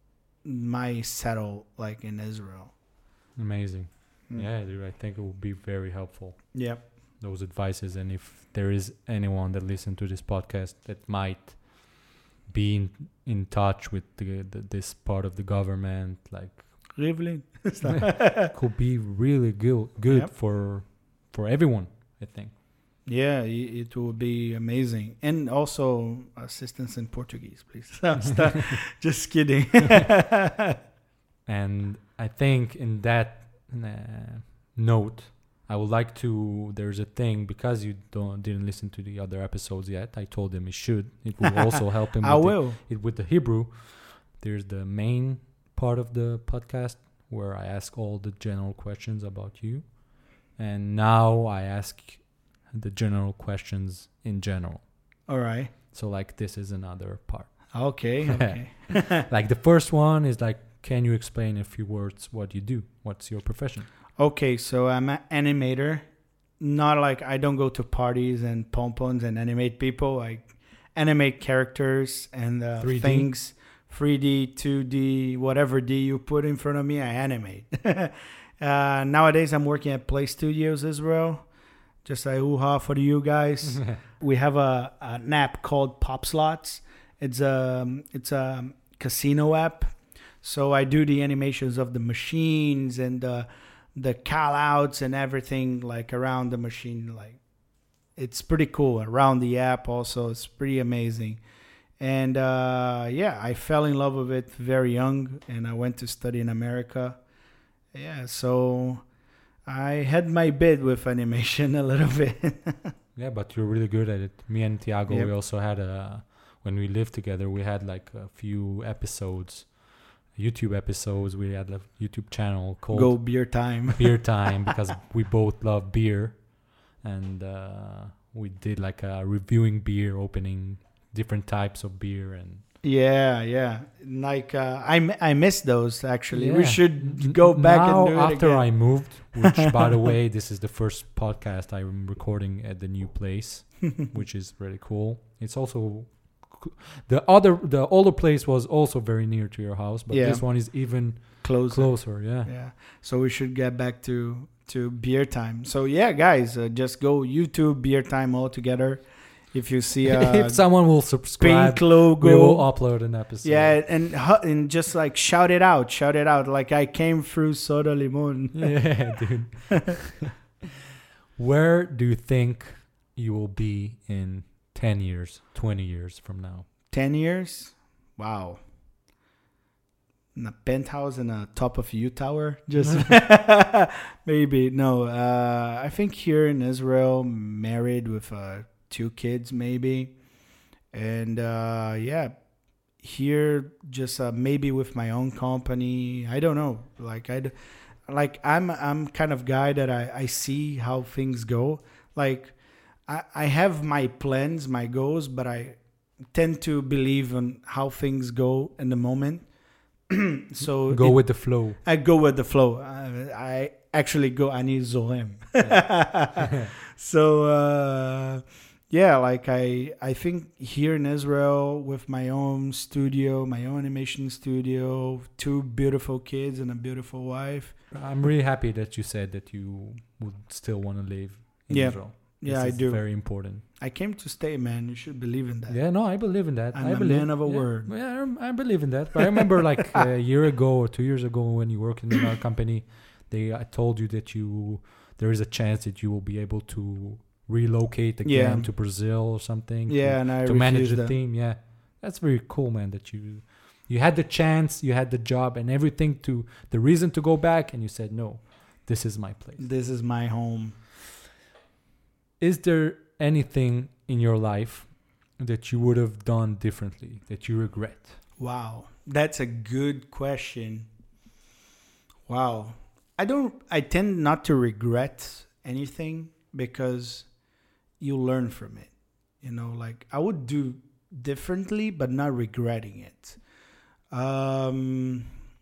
Speaker 2: my settle like in Israel.
Speaker 1: Amazing.
Speaker 2: Mm.
Speaker 1: Yeah, dude, I think it will be very helpful.
Speaker 2: Yep.
Speaker 1: Those advices, and if there is anyone that listens to this podcast that might be in, in touch with the, the, this part of the government, like
Speaker 2: Rivlin.
Speaker 1: could be really good good
Speaker 2: Yep.
Speaker 1: for for everyone, I think.
Speaker 2: Yeah, i- it would be amazing. And also assistance in Portuguese, please. Stop. Just kidding.
Speaker 1: And I think in that uh, note, I would like to, there's a thing, because you don't didn't listen to the other episodes yet, I told him he should. It will also help him
Speaker 2: I
Speaker 1: with,
Speaker 2: will.
Speaker 1: The, it, with the Hebrew. There's the main part of the podcast where I ask all the general questions about you. And now I ask the general questions in general.
Speaker 2: All right.
Speaker 1: So like this is another part.
Speaker 2: Okay. Okay.
Speaker 1: Like the first one is like, can you explain in a few words what you do? What's your profession?
Speaker 2: Okay, so I'm an animator. Not like I don't go to parties and pom-poms and animate people. I animate characters and uh,
Speaker 1: three D?
Speaker 2: things. three D, two D, whatever D you put in front of me, I animate. uh, nowadays, I'm working at Play Studios Israel. Just a hoo-ha for you guys. We have a an app called Pop Slots. It's a, it's a casino app. So I do the animations of the machines and the the call outs and everything like around the machine. Like it's pretty cool around the app. Also, it's pretty amazing. And uh, yeah, I fell in love with it very young, and I went to study in America. Yeah, so I had my bit with animation a little bit.
Speaker 1: Yeah, but you're really good at it. Me and Tiago,
Speaker 2: Yep.
Speaker 1: we also had a, when we lived together, we had like a few episodes, YouTube episodes. We had a YouTube channel called
Speaker 2: Go beer time.
Speaker 1: Beer Time because we both love beer. And uh, we did like a reviewing beer, opening different types of beer. And
Speaker 2: Yeah, yeah. Like uh, I, m- I miss those actually. We
Speaker 1: Yeah.
Speaker 2: should go back
Speaker 1: now,
Speaker 2: and do it
Speaker 1: after
Speaker 2: again.
Speaker 1: I moved, which by the way, this is the first podcast I'm recording at the new place, which is really cool. It's also c- the other the older place was also very near to your house, but
Speaker 2: Yeah.
Speaker 1: this one is even
Speaker 2: Close.
Speaker 1: closer. Yeah.
Speaker 2: Yeah. So we should get back to to beer time. So yeah, guys, uh, just go YouTube beer time all together. If you see a
Speaker 1: if someone will subscribe,
Speaker 2: pink logo,
Speaker 1: we will upload an episode.
Speaker 2: yeah, and hu- and just like shout it out, shout it out. Like I came through Soda Limon.
Speaker 1: Yeah, dude. Where do you think you will be in ten years, twenty years from now?
Speaker 2: Ten years, wow. In a penthouse in a top of U Tower, just maybe no. Uh, I think here in Israel, married with uh, two kids, maybe, and uh, yeah, here just uh, maybe with my own company. I don't know. Like I, like I'm I'm kind of guy that I, I see how things go. Like I I have my plans, my goals, but I tend to believe on how things go in the moment. So
Speaker 1: Go
Speaker 2: it-
Speaker 1: with the flow.
Speaker 2: I go with the flow. I, I actually go ani zorem. So uh, yeah, like I I think here in Israel with my own studio, my own animation studio, two beautiful kids and a beautiful wife.
Speaker 1: I'm really happy that you said that you would still want to live in
Speaker 2: Yeah.
Speaker 1: Israel.
Speaker 2: Yeah,
Speaker 1: This
Speaker 2: I
Speaker 1: is
Speaker 2: do.
Speaker 1: Very important.
Speaker 2: I came to stay, man. You should believe in that.
Speaker 1: Yeah, no, I believe in that.
Speaker 2: I'm
Speaker 1: I
Speaker 2: a
Speaker 1: believe,
Speaker 2: man of a
Speaker 1: yeah,
Speaker 2: word.
Speaker 1: Yeah, I'm- I believe in that. But I remember like a year ago or two years ago when you worked in our company, they I told you that you there is a chance that you will be able to relocate again
Speaker 2: Yeah.
Speaker 1: to Brazil or something. to-
Speaker 2: Yeah, and I
Speaker 1: to manage
Speaker 2: refused
Speaker 1: the
Speaker 2: that.
Speaker 1: team. Yeah, that's very cool, man. That you you had the chance, you had the job, and everything to the reason to go back, and you said no. This is my place.
Speaker 2: This is my home.
Speaker 1: Is there anything in your life that you would have done differently that you regret?
Speaker 2: Wow, that's a good question. Wow. I don't I tend not to regret anything because you learn from it. You know, like I would do differently but not regretting it. Um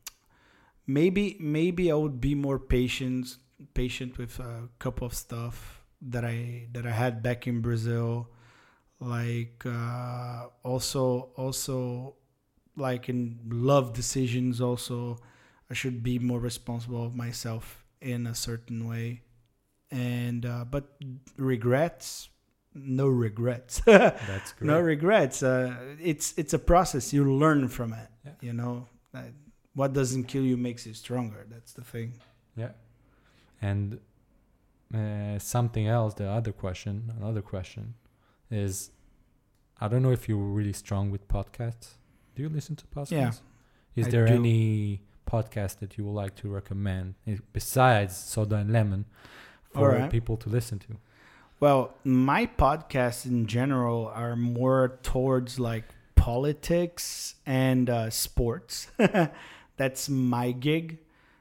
Speaker 2: maybe maybe I would be more patient patient with a couple of stuff that I that I had back in Brazil. Like uh also also like in love decisions also I should be more responsible of myself in a certain way. And uh, but regrets, no regrets.
Speaker 1: That's great.
Speaker 2: No regrets. Uh, it's it's a process. You learn from it.
Speaker 1: Yeah.
Speaker 2: You know, Uh, what doesn't kill you makes you stronger. That's the thing.
Speaker 1: Yeah. And uh, something else, the other question, another question is, I don't know if you're really strong with podcasts. Do you listen to podcasts?
Speaker 2: Yeah,
Speaker 1: Is
Speaker 2: I
Speaker 1: there
Speaker 2: do.
Speaker 1: any podcast that you would like to recommend eh, besides Soda and Lemon for
Speaker 2: Alright.
Speaker 1: people to listen to?
Speaker 2: Well, my podcasts in general are more towards like politics and uh, sports. That's my gig.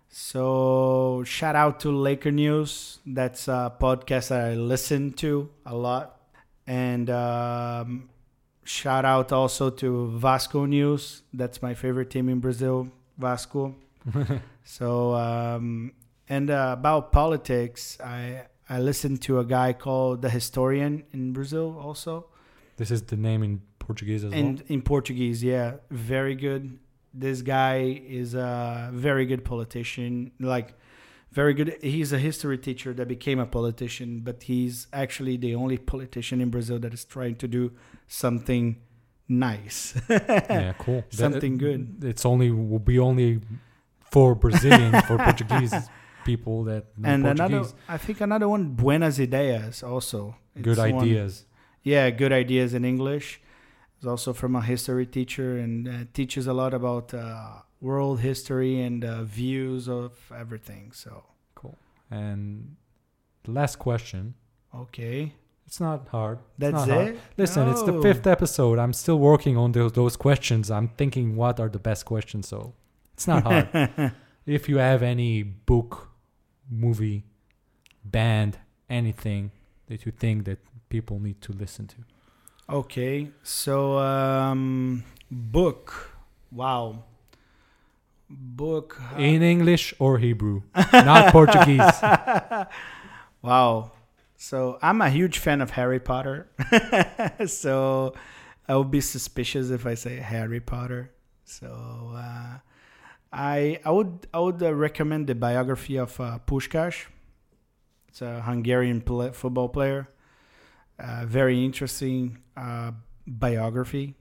Speaker 2: So shout out to Laker News. That's a podcast that I listen to a lot. And um, shout out also to Vasco News. That's my favorite team in Brazil, Vasco. So um, and uh, about politics, I I listened to a guy called The Historian in Brazil also.
Speaker 1: This is the name in Portuguese as
Speaker 2: And
Speaker 1: well?
Speaker 2: in Portuguese, yeah, very good. This guy is a very good politician, like very good. He's a history teacher that became a politician, but he's actually the only politician in Brazil that is trying to do something nice.
Speaker 1: Yeah, cool. That-
Speaker 2: Something good.
Speaker 1: It's only will be only for Brazilian, for Portuguese people that know
Speaker 2: And another,
Speaker 1: Portuguese.
Speaker 2: I think another one, Buenas Ideias, also.
Speaker 1: Good
Speaker 2: It's one-
Speaker 1: ideas.
Speaker 2: yeah, good ideas in English. It's also from a history teacher and uh, teaches a lot about uh, world history and uh, views of everything. So,
Speaker 1: Cool. And the last question.
Speaker 2: okay.
Speaker 1: It's not hard. It's
Speaker 2: That's
Speaker 1: not hard.
Speaker 2: it?
Speaker 1: Listen, it's the
Speaker 2: No.
Speaker 1: fifth episode. I'm still working on those those questions. I'm thinking what are the best questions. So it's not hard. If you have any book, movie, band, anything that you think that people need to listen to.
Speaker 2: Okay, so um, book. Wow. Book. uh,
Speaker 1: In English or Hebrew, not Portuguese.
Speaker 2: Wow. So I'm a huge fan of Harry Potter. So I would be suspicious if I say Harry Potter. So uh, I I would I would uh, recommend the biography of uh, Puskás. It's a Hungarian pl- football player. Uh, very interesting uh, biography.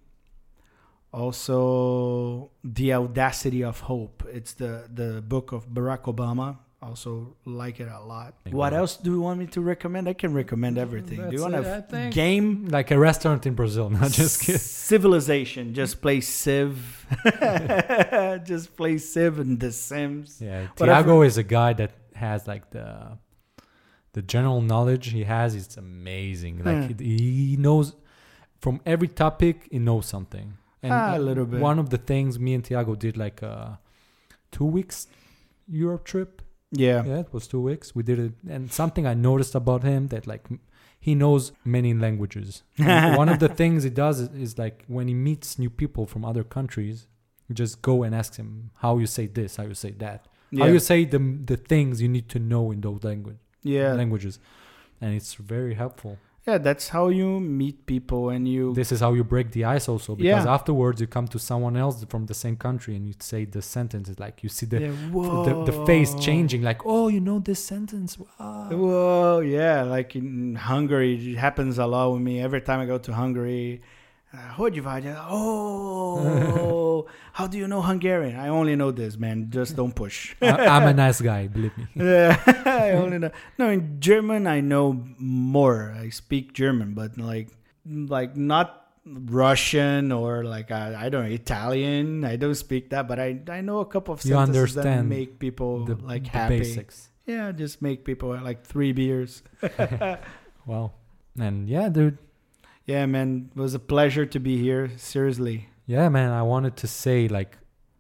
Speaker 2: Also, The Audacity of Hope. It's the, the book of Barack Obama. Also like it a lot. What else do you want me to recommend? I can recommend everything. Do you
Speaker 1: That's
Speaker 2: want
Speaker 1: it, I
Speaker 2: a
Speaker 1: think.
Speaker 2: game?
Speaker 1: Like a restaurant in Brazil. Not just kidding.
Speaker 2: Civilization. Just play Civ. Just play Civ and The Sims.
Speaker 1: Yeah,
Speaker 2: Whatever.
Speaker 1: Tiago is a guy that has like the the general knowledge he has is amazing. Like
Speaker 2: Hmm.
Speaker 1: he, he knows from every topic he knows something. And
Speaker 2: Ah, a
Speaker 1: uh,
Speaker 2: little bit.
Speaker 1: one of the things me and Tiago did like uh two weeks Europe trip.
Speaker 2: Yeah.
Speaker 1: Yeah, it was two weeks. We did it, and something I noticed about him that like m- he knows many languages. And one of the things he does is, is like when he meets new people from other countries, you just go and ask him how you say this, how you say that,
Speaker 2: Yeah.
Speaker 1: how you say the the things you need to know in those language
Speaker 2: yeah.
Speaker 1: languages, and it's very helpful.
Speaker 2: Yeah, that's how you meet people and you
Speaker 1: This is how you break the ice also, because
Speaker 2: Yeah.
Speaker 1: afterwards you come to someone else from the same country and you say the sentences like you see the
Speaker 2: yeah,
Speaker 1: the, the face
Speaker 2: whoa.
Speaker 1: changing like, oh, you know this sentence. Wow.
Speaker 2: Whoa, yeah, like in Hungary, it happens a lot with me. Every time I go to Hungary, uh, hogy vagy? Oh, how do you know Hungarian? I only know this, man. Just don't push.
Speaker 1: I, I'm a nice guy, believe me.
Speaker 2: Yeah, I only know. No, in German, I know more. I speak German, but like, like not Russian or like uh, I don't know Italian. I don't speak that, but I I know a couple of
Speaker 1: You
Speaker 2: sentences that
Speaker 1: understand
Speaker 2: make people
Speaker 1: the,
Speaker 2: like
Speaker 1: the
Speaker 2: happy.
Speaker 1: basics.
Speaker 2: Yeah, just make people like three beers.
Speaker 1: Well, and yeah, dude.
Speaker 2: Yeah, man, it was a pleasure to be here. Seriously.
Speaker 1: Yeah, man, I wanted to say like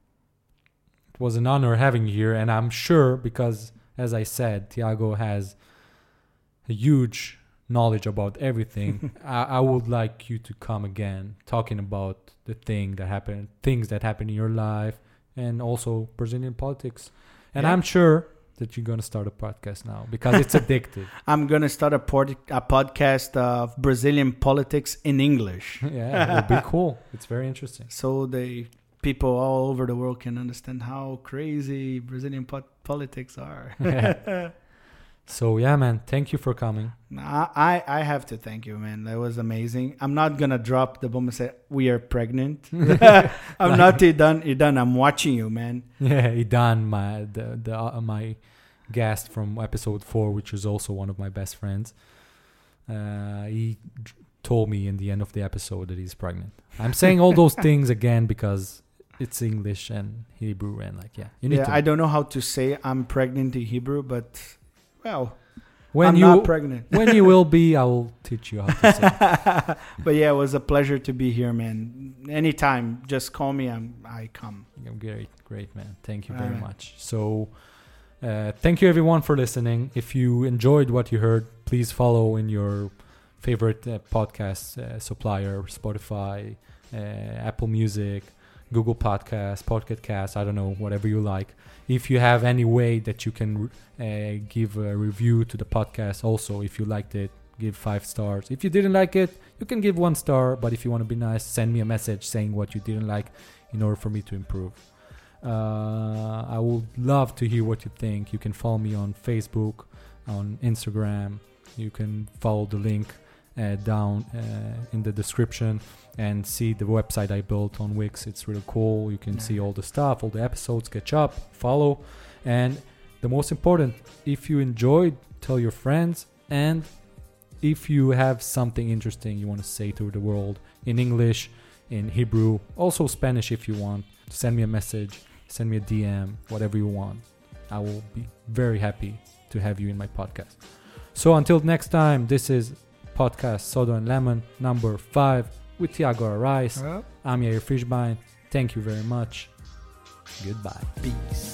Speaker 1: it was an honor having you here, and I'm sure because as I said, Tiago has a huge knowledge about everything. I, I would like you to come again talking about the thing that happened, things that happen in your life, and also Brazilian politics. And
Speaker 2: Yeah.
Speaker 1: I'm sure that you're gonna start a podcast now because it's addictive.
Speaker 2: I'm gonna start a, pod- a podcast of Brazilian politics in English,
Speaker 1: Yeah, it would be cool. It's very interesting.
Speaker 2: so the people all over the world can understand how crazy Brazilian po- politics are.
Speaker 1: So yeah, man, thank you for coming.
Speaker 2: I, I I have to thank you, man. That was amazing. I'm not gonna drop the bomb and say we are pregnant. I'm not done. done. I'm watching you, man.
Speaker 1: Yeah, Idan, my the the uh, my guest from episode four, which is also one of my best friends. Uh, he d- told me in the end of the episode that he's pregnant. I'm saying all those things again because it's English and Hebrew and like yeah, you need
Speaker 2: Yeah,
Speaker 1: to.
Speaker 2: I don't know how to say I'm pregnant in Hebrew, but well,
Speaker 1: when
Speaker 2: I'm
Speaker 1: you
Speaker 2: not pregnant.
Speaker 1: when you will be, I will teach you how to say. It.
Speaker 2: But yeah, it was a pleasure to be here, man. Anytime, just call me. I'm I come.
Speaker 1: Great, great, man. Thank you
Speaker 2: All
Speaker 1: very
Speaker 2: right.
Speaker 1: much. So, uh, thank you everyone for listening. If you enjoyed what you heard, please follow in your favorite uh, podcast uh, supplier, Spotify, uh, Apple Music, Google Podcasts, Pocket Cast, I don't know, whatever you like. If you have any way that you can uh, give a review to the podcast, also, if you liked it, give five stars. If you didn't like it, you can give one star. But if you want to be nice, send me a message saying what you didn't like in order for me to improve. Uh, I would love to hear what you think. You can follow me on Facebook, on Instagram. You can follow the link uh, down uh, in the description and see the website I built on Wix. It's really cool. You can
Speaker 2: Yeah.
Speaker 1: see all the stuff, all the episodes, catch up, follow. And the most important, if you enjoyed, tell your friends. And if you have something interesting you want to say to the world in English, in Hebrew, also Spanish if you want, send me a message, send me a D M, whatever you want. I will be very happy to have you in my podcast. So until next time, this is podcast Soda and Lemon number five with Tiago Arais.
Speaker 2: Uh,
Speaker 1: I'm Yair Fishbein. Thank you very much. Goodbye.
Speaker 2: Peace.